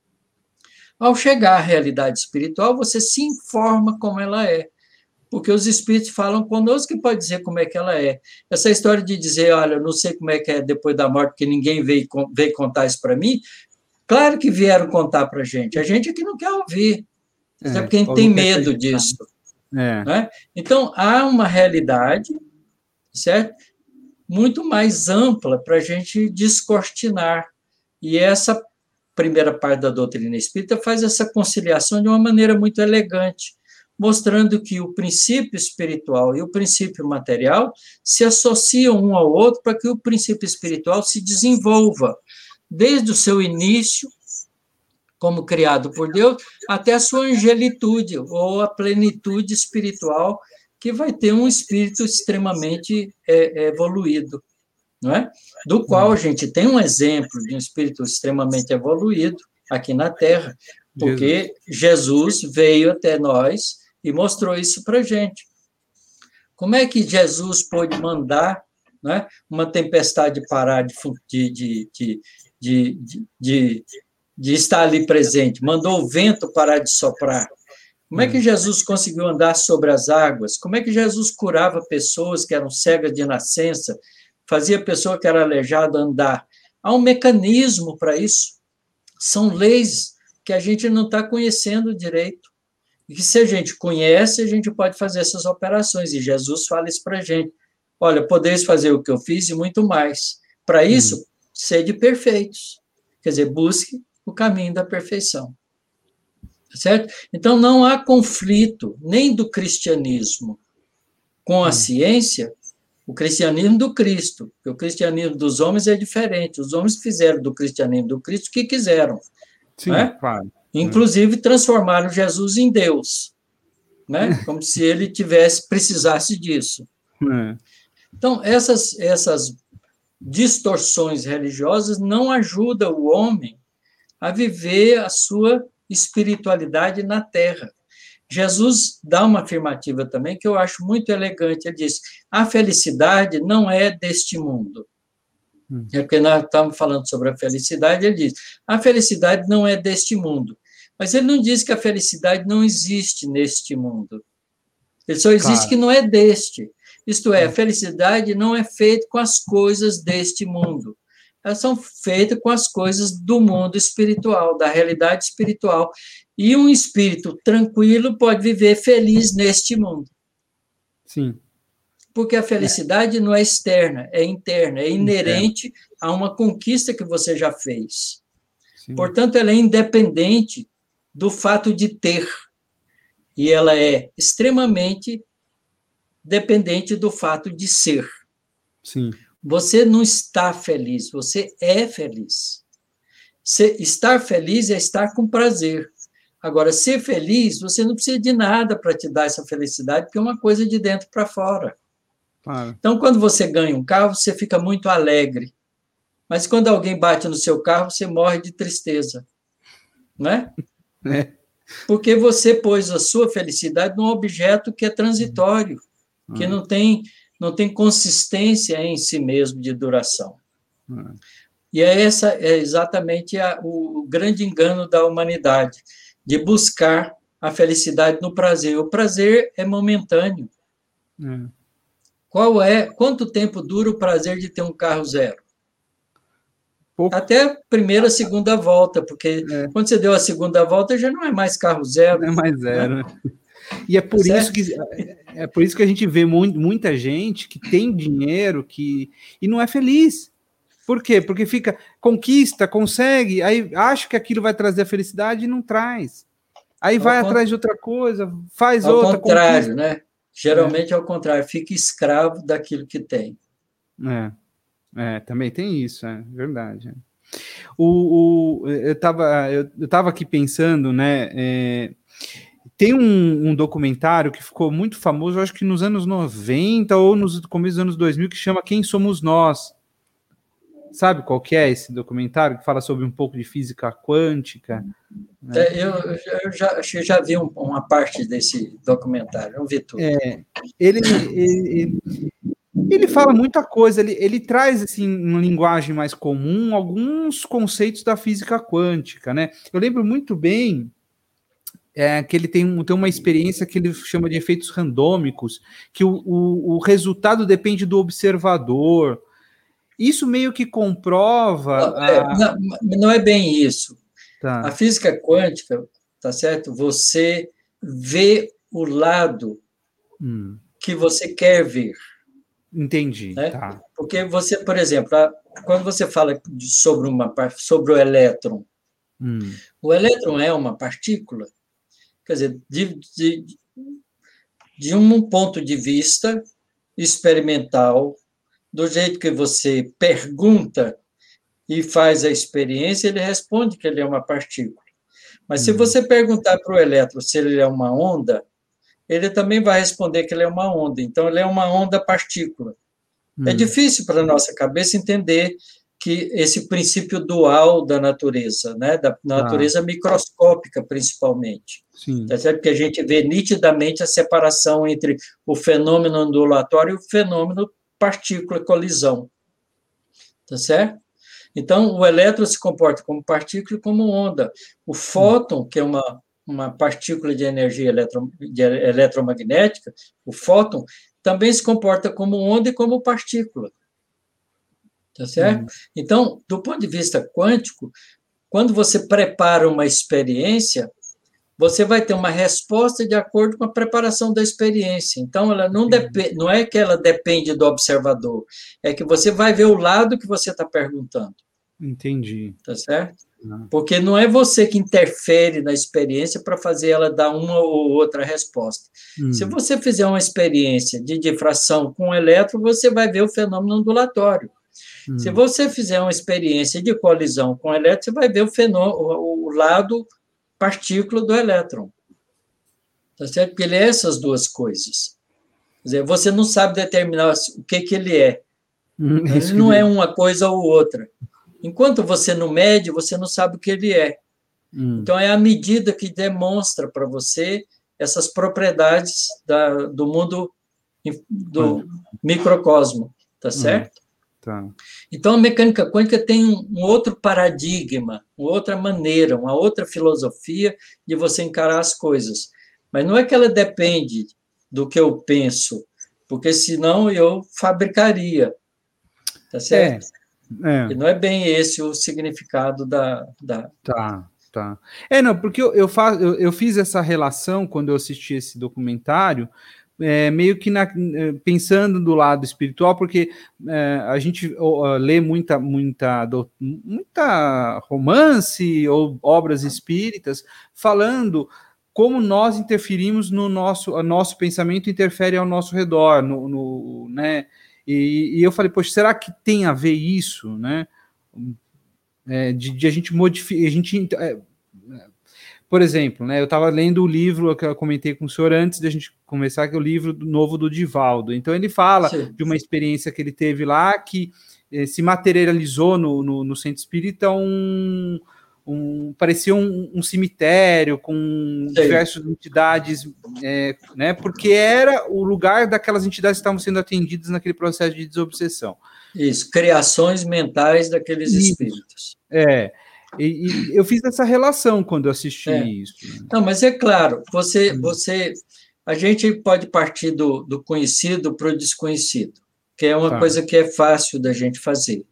Ao chegar à realidade espiritual, você se informa como ela é, porque os espíritos falam conosco que pode dizer como é que ela é. Essa história de dizer, olha, eu não sei como é que é depois da morte, porque ninguém veio contar isso para mim, claro que vieram contar para a gente é que não quer ouvir, até porque a gente tem medo disso. Né? Então, há uma realidade, certo? Muito mais ampla para a gente descortinar. E essa primeira parte da doutrina espírita faz essa conciliação de uma maneira muito elegante, mostrando que o princípio espiritual e o princípio material se associam um ao outro para que o princípio espiritual se desenvolva, desde o seu início, como criado por Deus, até a sua angelitude, ou a plenitude espiritual, que vai ter um espírito extremamente evoluído, não é? Do qual a gente tem um exemplo de um espírito extremamente evoluído aqui na Terra, porque Jesus veio até nós e mostrou isso para a gente. Como é que Jesus pôde mandar, né, uma tempestade parar de estar ali presente? Mandou o vento parar de soprar. Como é que Jesus conseguiu andar sobre as águas? Como é que Jesus curava pessoas que eram cegas de nascença, fazia a pessoa que era aleijada andar? Há um mecanismo para isso. São leis que a gente não está conhecendo direito. E que se a gente conhece, a gente pode fazer essas operações. E Jesus fala isso para a gente. Olha, podeis fazer o que eu fiz e muito mais. Para isso, sede perfeitos. Quer dizer, busque o caminho da perfeição. Certo? Então, não há conflito nem do cristianismo com a ciência, o cristianismo do Cristo, porque o cristianismo dos homens é diferente. Os homens fizeram do cristianismo do Cristo o que quiseram. Sim, né? claro. Inclusive, transformaram Jesus em Deus, né? Como se ele precisasse disso. Então, essas distorções religiosas não ajudam o homem a viver a sua espiritualidade na Terra. Jesus dá uma afirmativa também que eu acho muito elegante. Ele diz: a felicidade não é deste mundo. É porque nós estamos falando sobre a felicidade, ele diz: a felicidade não é deste mundo. Mas ele não diz que a felicidade não existe neste mundo. Ele só existe que não é deste. Isto é, a felicidade não é feita com as coisas deste mundo. Elas são feitas com as coisas do mundo espiritual, da realidade espiritual. E um espírito tranquilo pode viver feliz neste mundo. Sim. Porque a felicidade não é externa, é interna, é inerente a uma conquista que você já fez. Sim. Portanto, ela é independente do fato de ter. E ela é extremamente dependente do fato de ser. Sim. Você não está feliz, você é feliz. Estar feliz é estar com prazer. Agora, ser feliz, você não precisa de nada para te dar essa felicidade, porque é uma coisa de dentro para fora. Claro. Então, quando você ganha um carro, você fica muito alegre. Mas quando alguém bate no seu carro, você morre de tristeza. Né? Porque você pôs a sua felicidade num objeto que é transitório, que não tem consistência em si mesmo de duração. E essa é exatamente o grande engano da humanidade, de buscar a felicidade no prazer. O prazer é momentâneo. Quanto tempo dura o prazer de ter um carro zero? Até a primeira, segunda volta, porque quando você deu a segunda volta, já não é mais carro zero. Não é mais zero, né? E é por isso que a gente vê muita gente que tem dinheiro e não é feliz. Por quê? Porque conquista, consegue, aí acha que aquilo vai trazer a felicidade e não traz. Aí vai atrás de outra coisa, faz outra. Ao contrário, né? Geralmente é ao contrário, fica escravo daquilo que tem. Também tem isso, é verdade. Eu tava aqui pensando, né? Tem um documentário que ficou muito famoso, acho que nos anos 90 ou nos começos dos anos 2000, que chama Quem Somos Nós. Sabe qual que é esse documentário que fala sobre um pouco de física quântica? Né? Eu já vi uma parte desse documentário, não vi tudo. Ele fala muita coisa, ele traz, assim, em linguagem mais comum, alguns conceitos da física quântica, né? Eu lembro muito bem que ele tem uma experiência que ele chama de efeitos randômicos, que o resultado depende do observador. Isso meio que comprova... Não é bem isso. Tá. A física quântica, tá certo? Você vê o lado que você quer ver. Entendi, né? tá. Porque você, por exemplo, quando você fala sobre o elétron, o elétron é uma partícula, quer dizer, de um ponto de vista experimental, do jeito que você pergunta e faz a experiência, ele responde que ele é uma partícula. Mas se você perguntar para o elétron se ele é uma onda, ele também vai responder que ele é uma onda. Então, ele é uma onda-partícula. É difícil para a nossa cabeça entender que esse princípio dual da natureza, né? Da natureza microscópica, principalmente. Sim. Tá certo? Porque a gente vê nitidamente a separação entre o fenômeno ondulatório e o fenômeno partícula-colisão. Tá certo? Então, o elétron se comporta como partícula e como onda. O fóton, que é uma partícula de energia eletromagnética, o fóton, também se comporta como onda e como partícula. Tá certo? Então, do ponto de vista quântico, quando você prepara uma experiência, você vai ter uma resposta de acordo com a preparação da experiência. Então, ela não é que ela depende do observador, é que você vai ver o lado que você está perguntando. Entendi. Tá certo? Porque não é você que interfere na experiência para fazer ela dar uma ou outra resposta. Se você fizer uma experiência de difração com elétron, você vai ver o fenômeno ondulatório. Se você fizer uma experiência de colisão com elétron, você vai ver o lado partícula do elétron. Tá certo? Porque ele é essas duas coisas. Quer dizer, você não sabe determinar o que ele é. Ele não é uma coisa ou outra. Enquanto você não mede, você não sabe o que ele é. Então, é a medida que demonstra para você essas propriedades do mundo do microcosmo, tá certo? Tá. Então, a mecânica quântica tem um outro paradigma, uma outra maneira, uma outra filosofia de você encarar as coisas. Mas não é que ela depende do que eu penso, porque senão eu fabricaria, tá certo? E não é bem esse o significado da... Tá. Não, porque eu fiz essa relação quando eu assisti esse documentário, meio que pensando do lado espiritual, porque a gente lê muita romance ou obras espíritas falando como nós interferimos no nosso pensamento interfere ao nosso redor, né? E eu falei, poxa, será que tem a ver isso, né? De a gente modificar... Por exemplo, né, eu estava lendo o livro que eu comentei com o senhor antes de a gente começar, que é o livro novo do Divaldo. Então, ele fala de uma experiência que ele teve lá, que se materializou no centro espírita parecia um cemitério com diversas entidades, né, porque era o lugar daquelas entidades que estavam sendo atendidas naquele processo de desobsessão. Isso, criações mentais daqueles espíritos. E eu fiz essa relação quando eu assisti isso. Né? Não, mas é claro, a gente pode partir do conhecido para o desconhecido, que é uma coisa que é fácil da gente fazer.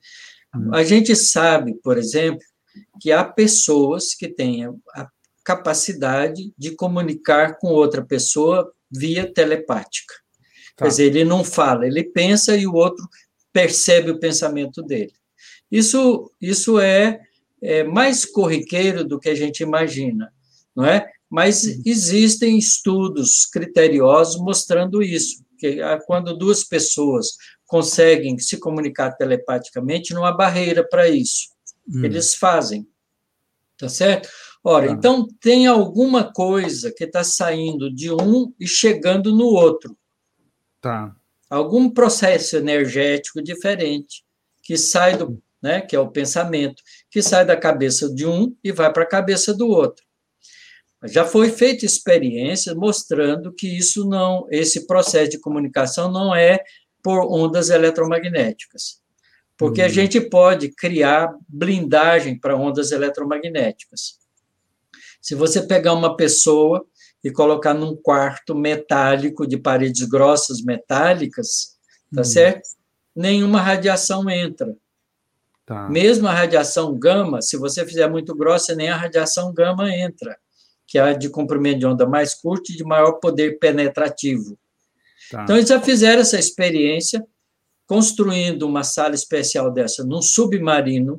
A gente sabe, por exemplo, que há pessoas que têm a capacidade de comunicar com outra pessoa via telepática. Quer dizer, ele não fala, ele pensa e o outro percebe o pensamento dele. Isso é mais corriqueiro do que a gente imagina, não é? Mas existem estudos criteriosos mostrando isso, que quando duas pessoas conseguem se comunicar telepaticamente, não há barreira para isso. Eles fazem, tá certo? Ora, então tem alguma coisa que está saindo de um e chegando no outro. Tá. Algum processo energético diferente que sai do, né, que é o pensamento, que sai da cabeça de um e vai para a cabeça do outro. Já foi feita experiência mostrando que esse processo de comunicação não é por ondas eletromagnéticas, porque a gente pode criar blindagem para ondas eletromagnéticas. Se você pegar uma pessoa e colocar num quarto metálico de paredes grossas metálicas, tá certo? Nenhuma radiação entra. Tá. Mesmo a radiação gama, se você fizer muito grossa, nem a radiação gama entra, que é a de comprimento de onda mais curto e de maior poder penetrativo. Tá. Então, eles já fizeram essa experiência, construindo uma sala especial dessa num submarino,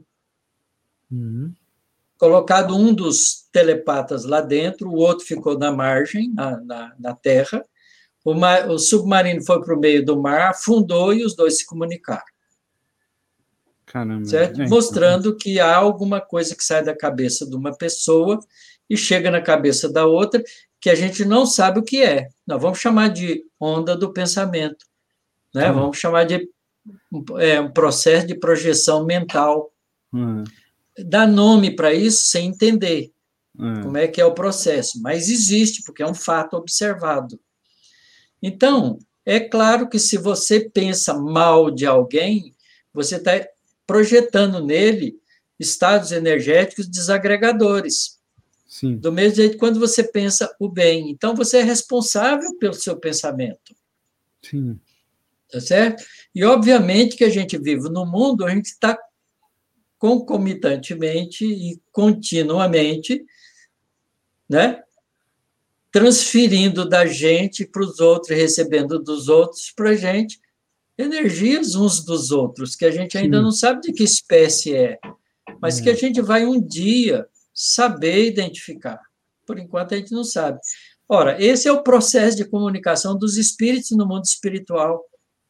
colocado um dos telepatas lá dentro, o outro ficou na margem, na terra, o submarino foi para o meio do mar, afundou e os dois se comunicaram. Caramba. Certo? Mostrando que há alguma coisa que sai da cabeça de uma pessoa e chega na cabeça da outra, que a gente não sabe o que é. Nós vamos chamar de onda do pensamento, né? Vamos chamar de um processo de projeção mental. Dá nome para isso sem entender como é que é o processo, mas existe, porque é um fato observado. Então, é claro que se você pensa mal de alguém, você está projetando nele estados energéticos desagregadores. Sim. Do mesmo jeito quando você pensa o bem. Então, você é responsável pelo seu pensamento. Sim. Tá certo? E, obviamente, que a gente vive no mundo, a gente está concomitantemente e continuamente, né, transferindo da gente para os outros, recebendo dos outros para a gente, energias uns dos outros, que a gente ainda não sabe de que espécie é, mas que a gente vai um dia saber identificar. Por enquanto, a gente não sabe. Ora, esse é o processo de comunicação dos espíritos no mundo espiritual.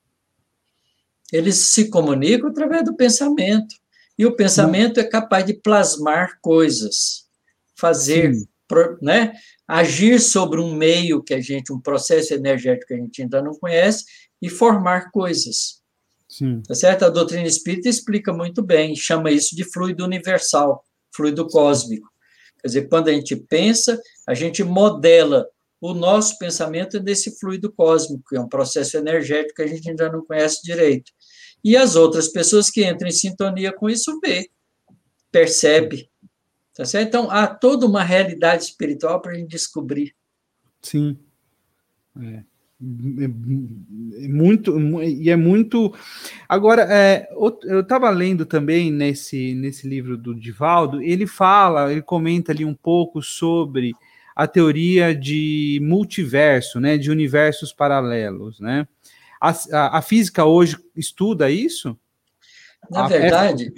Eles se comunicam através do pensamento. E o pensamento é capaz de plasmar coisas, fazer, né, agir sobre um meio um processo energético que a gente ainda não conhece e formar coisas. Tá certo? A doutrina espírita explica muito bem, chama isso de fluido universal, fluido cósmico. Quer dizer, quando a gente pensa, a gente modela o nosso pensamento nesse fluido cósmico, que é um processo energético que a gente ainda não conhece direito. E as outras pessoas que entram em sintonia com isso percebe. Tá certo? Então, há toda uma realidade espiritual para a gente descobrir. Sim. Muito. Agora, eu estava lendo também nesse livro do Divaldo, ele comenta ali um pouco sobre a teoria de multiverso, né, de universos paralelos, né? A física hoje estuda isso? Na verdade,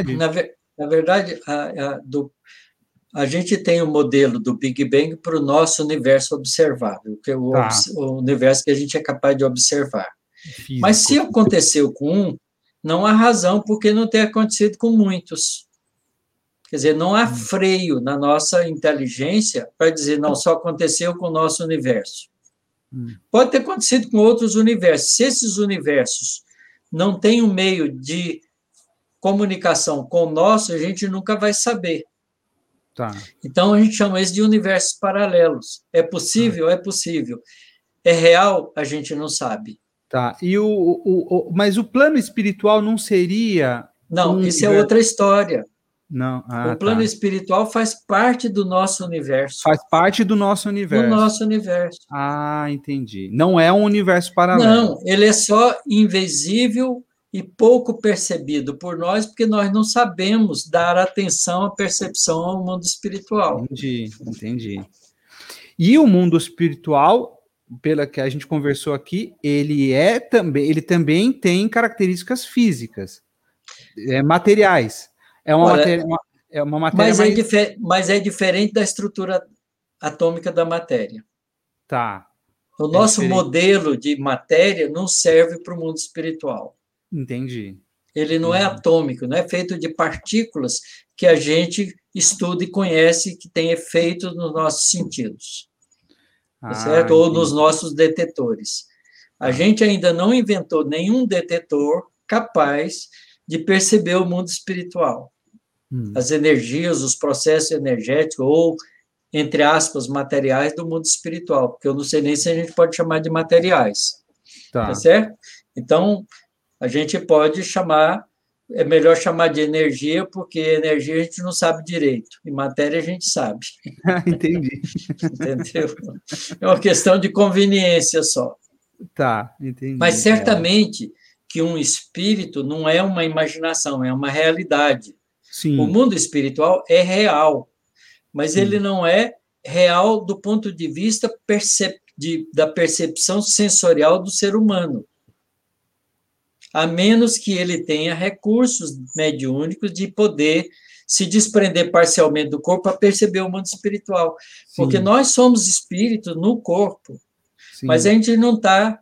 a gente tem o modelo do Big Bang para o nosso universo observável, que é o universo que a gente é capaz de observar. Físico. Mas se aconteceu com um, não há razão porque não tenha acontecido com muitos. Quer dizer, não há freio na nossa inteligência para dizer, não, só aconteceu com o nosso universo. Pode ter acontecido com outros universos. Se esses universos não têm um meio de comunicação com o nosso, a gente nunca vai saber. Então, a gente chama isso de universos paralelos. É possível? É possível. É real? A gente não sabe. E mas o plano espiritual não seria... Não, isso é outra história. Não. O plano espiritual faz parte do nosso universo. Faz parte do nosso universo. Do nosso universo. Entendi. Não é um universo paralelo. Não, ele é só invisível e pouco percebido por nós, porque nós não sabemos dar atenção à percepção ao mundo espiritual. Entendi. E o mundo espiritual, pela que a gente conversou aqui, ele também tem características físicas, materiais. Olha, É uma matéria mas é diferente da estrutura atômica da matéria. Tá. O nosso modelo de matéria não serve para o mundo espiritual. Entendi. Ele não é atômico, não é feito de partículas que a gente estuda e conhece, que tem efeito nos nossos sentidos, certo? Ou nos nossos detetores. A gente ainda não inventou nenhum detetor capaz de perceber o mundo espiritual. As energias, os processos energéticos, ou, entre aspas, materiais do mundo espiritual, porque eu não sei nem se a gente pode chamar de materiais, tá certo? Então, a gente pode chamar, é melhor chamar de energia, porque energia a gente não sabe direito, e matéria a gente sabe. Entendi. Entendeu? É uma questão de conveniência só. Tá, entendi. Mas certamente que um espírito não é uma imaginação, é uma realidade. Sim. O mundo espiritual é real, mas ele não é real do ponto de vista da percepção sensorial do ser humano. A menos que ele tenha recursos mediúnicos de poder se desprender parcialmente do corpo para perceber o mundo espiritual. Sim. Porque nós somos espíritos no corpo, sim, mas a gente não está,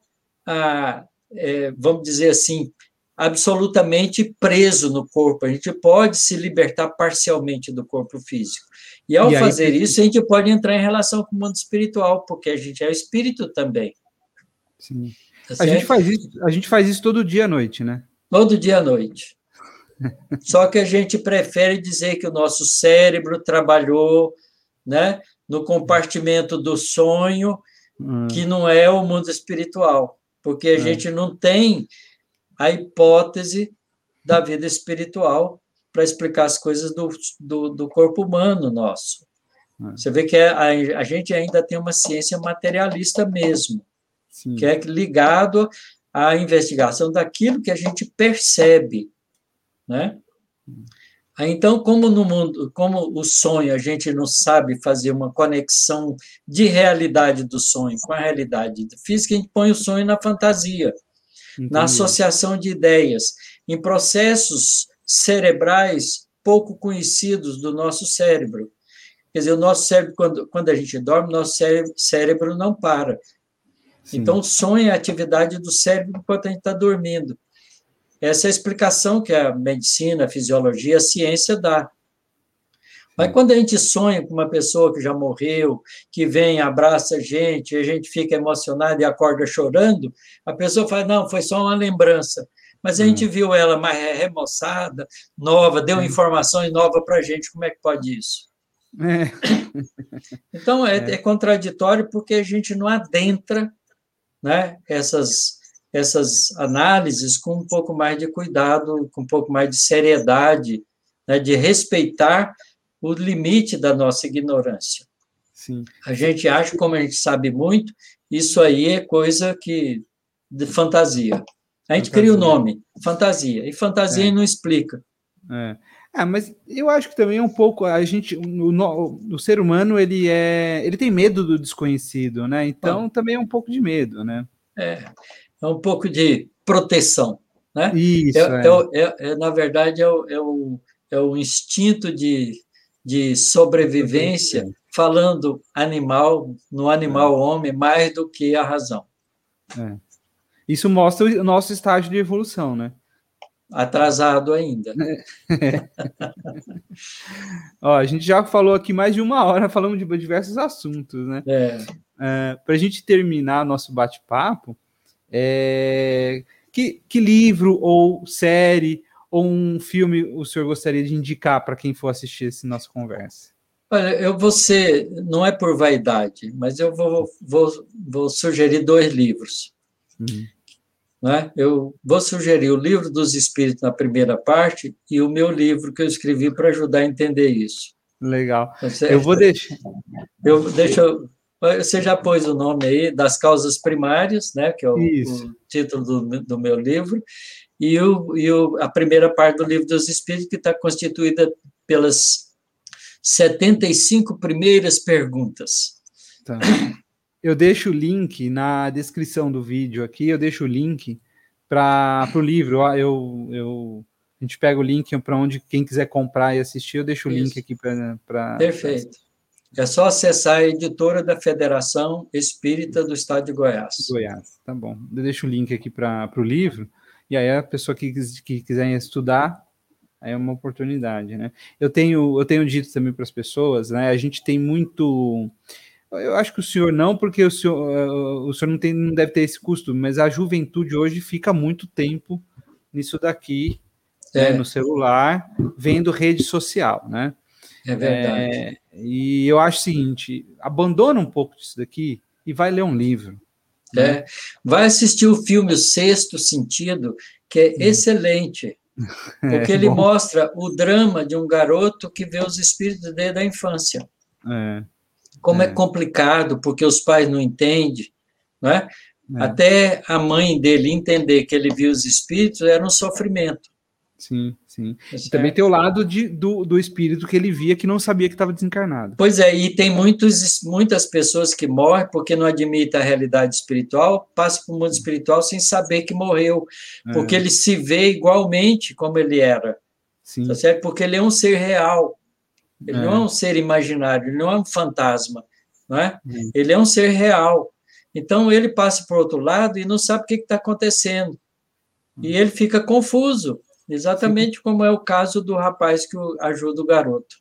vamos dizer assim, absolutamente preso no corpo. A gente pode se libertar parcialmente do corpo físico. E ao fazer isso, a gente pode entrar em relação com o mundo espiritual, porque a gente é espírito também. Sim. Tá, a gente faz isso todo dia à noite, né? Todo dia à noite. Só que a gente prefere dizer que o nosso cérebro trabalhou, né, no compartimento do sonho, que não é o mundo espiritual, porque a gente não tem a hipótese da vida espiritual para explicar as coisas do corpo humano nosso. Você vê que a gente ainda tem uma ciência materialista mesmo, sim, que é ligado à investigação daquilo que a gente percebe, né? Então, como no mundo, como o sonho, a gente não sabe fazer uma conexão de realidade do sonho com a realidade física, a gente põe o sonho na fantasia, entendi, na associação de ideias, em processos cerebrais pouco conhecidos do nosso cérebro. Quer dizer, o nosso cérebro, quando a gente dorme, nosso cérebro não para. Sim. Então, o sonho é a atividade do cérebro enquanto a gente está dormindo. Essa é a explicação que a medicina, a fisiologia, a ciência dá. Mas quando a gente sonha com uma pessoa que já morreu, que vem, abraça a gente fica emocionado e acorda chorando, a pessoa fala, não, foi só uma lembrança. Mas a gente viu ela mais remoçada, nova, deu informações novas para a gente, como é que pode isso? Então, é contraditório porque a gente não adentra, né, essas análises com um pouco mais de cuidado, com um pouco mais de seriedade, né, de respeitar o limite da nossa ignorância. Sim. A gente acha, como a gente sabe muito, isso aí é coisa de fantasia. A gente cria o nome, fantasia, e fantasia não explica. Mas eu acho que também é um pouco o ser humano ele tem medo do desconhecido, né? Então também é um pouco de medo, né? É um pouco de proteção, né? Isso, na verdade, é o instinto de sobrevivência, falando no animal homem, mais do que a razão. Isso mostra o nosso estágio de evolução, né? Atrasado ainda. Ó, a gente já falou aqui mais de 1 hora, falamos de diversos assuntos, né? Para a gente terminar nosso bate-papo, que livro ou série ou um filme o senhor gostaria de indicar para quem for assistir essa nossa conversa? Olha, não é por vaidade, mas eu vou sugerir 2 livros. Né? Eu vou sugerir o Livro dos Espíritos na primeira parte e o meu livro que eu escrevi para ajudar a entender isso. Legal. Eu vou deixar. Você já pôs o nome aí, Das Causas Primárias, né, que é o título do meu livro, a primeira parte do Livro dos Espíritos, que está constituída pelas 75 primeiras perguntas. Tá. Eu deixo o link na descrição do vídeo aqui, eu deixo o link para o livro. A gente pega o link para onde quem quiser comprar e assistir, eu deixo o link aqui para... Perfeito. É só acessar a editora da Federação Espírita do Estado de Goiás. Goiás, tá bom. Eu deixo o link aqui para o livro, e aí a pessoa que quiser estudar, aí é uma oportunidade, né? Eu tenho dito também para as pessoas, né? A gente tem muito... Eu acho que o senhor não, porque o senhor não deve ter esse custo, mas a juventude hoje fica muito tempo nisso daqui, né, no celular, vendo rede social, né? É verdade. E eu acho o seguinte, abandona um pouco disso daqui e vai ler um livro. Né? Vai assistir o filme O Sexto Sentido, que é excelente, porque ele mostra o drama de um garoto que vê os espíritos desde a infância. Como é complicado, porque os pais não entendem, não é? Até a mãe dele entender que ele viu os espíritos era um sofrimento. Sim, sim. E também tem o lado do espírito que ele via que não sabia que estava desencarnado. Pois é, e tem muitas pessoas que morrem porque não admitem a realidade espiritual, passam para o mundo espiritual sem saber que morreu, porque ele se vê igualmente como ele era. Sim. Tá certo? Porque ele é um ser real. Ele não é um ser imaginário, ele não é um fantasma, não é? Ele é um ser real. Então, ele passa para o outro lado e não sabe o que está acontecendo. E ele fica confuso, exatamente como é o caso do rapaz que ajuda o garoto.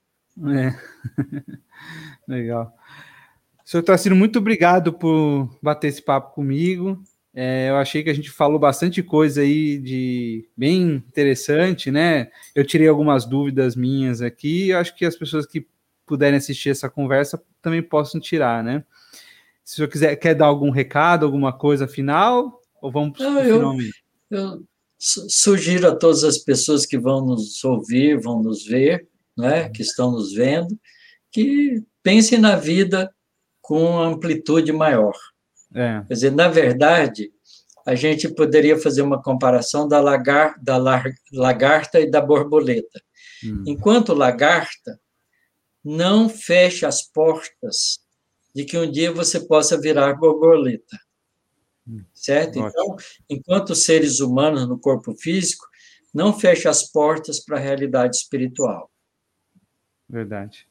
Legal. Senhor Tarcísio, muito obrigado por bater esse papo comigo. Eu achei que a gente falou bastante coisa aí bem interessante, né? Eu tirei algumas dúvidas minhas aqui, eu acho que as pessoas que puderem assistir essa conversa também possam tirar, né? Se o senhor quer dar algum recado, alguma coisa final, ou vamos para o finalmente? Eu sugiro a todas as pessoas que vão nos ouvir, vão nos ver, né? Que estão nos vendo, que pensem na vida com amplitude maior. Quer dizer, na verdade, a gente poderia fazer uma comparação da lagarta e da borboleta. Enquanto lagarta, não feche as portas de que um dia você possa virar borboleta. Certo? Então, enquanto seres humanos no corpo físico, não feche as portas para a realidade espiritual. Verdade.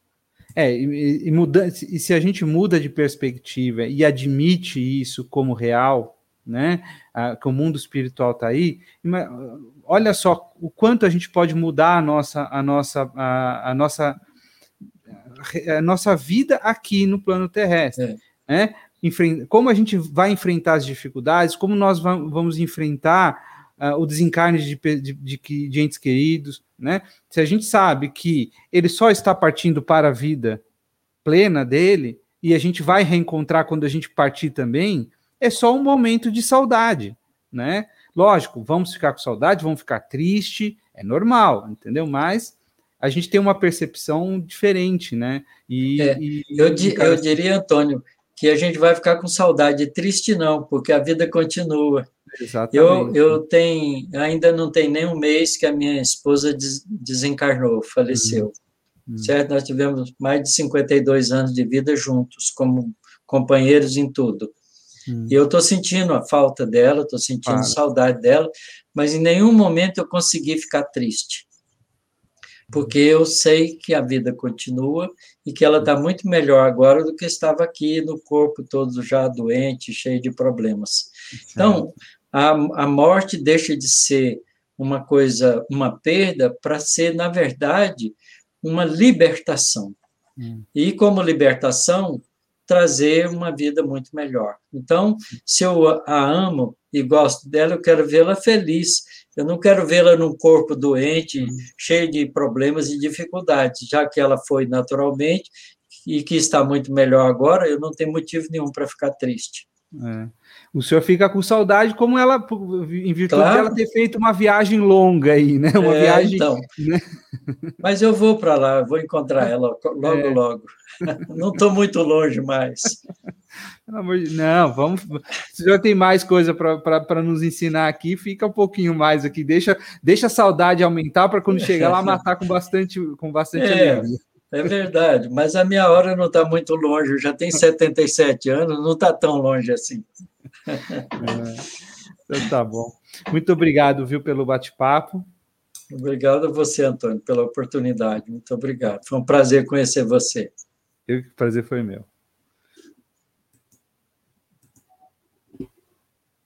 E se a gente muda de perspectiva e admite isso como real, né, que o mundo espiritual está aí, olha só o quanto a gente pode mudar a nossa vida aqui no plano terrestre, né? Como a gente vai enfrentar as dificuldades, como nós vamos enfrentar o desencarne de entes queridos, né? Se a gente sabe que ele só está partindo para a vida plena dele, e a gente vai reencontrar quando a gente partir também, é só um momento de saudade, né? Lógico, vamos ficar com saudade, vamos ficar triste, é normal, entendeu? Mas a gente tem uma percepção diferente, né? Eu diria, Antônio, que a gente vai ficar com saudade, triste não, porque a vida continua. Exatamente. Eu ainda não tem nem um mês que a minha esposa desencarnou, faleceu. Certo? Nós tivemos mais de 52 anos de vida juntos, como companheiros em tudo. E eu estou sentindo a falta dela, estou sentindo saudade dela, mas em nenhum momento eu consegui ficar triste. Porque eu sei que a vida continua e que ela está muito melhor agora do que estava aqui no corpo todo já doente, cheio de problemas. Então, a morte deixa de ser uma coisa, uma perda, para ser, na verdade, uma libertação. E, como libertação, trazer uma vida muito melhor. Então, se eu a amo e gosto dela, eu quero vê-la feliz. Eu não quero vê-la num corpo doente, cheio de problemas e dificuldades, já que ela foi naturalmente e que está muito melhor agora, eu não tenho motivo nenhum para ficar triste. O senhor fica com saudade, como ela, em virtude dela ter feito uma viagem longa aí, né? Uma viagem. Então. Né? Mas eu vou para lá, vou encontrar ela logo, logo. Não estou muito longe mais. Pelo amor de... Não, vamos. Se já tem mais coisa para nos ensinar aqui, fica um pouquinho mais aqui. Deixa a saudade aumentar para quando chegar lá matar com bastante alegria. É verdade, mas a minha hora não está muito longe. Eu já tenho 77 anos, não está tão longe assim. Então tá bom. Muito obrigado, viu, pelo bate-papo. Obrigado a você, Antônio, pela oportunidade. Muito obrigado. Foi um prazer conhecer você. O prazer foi meu.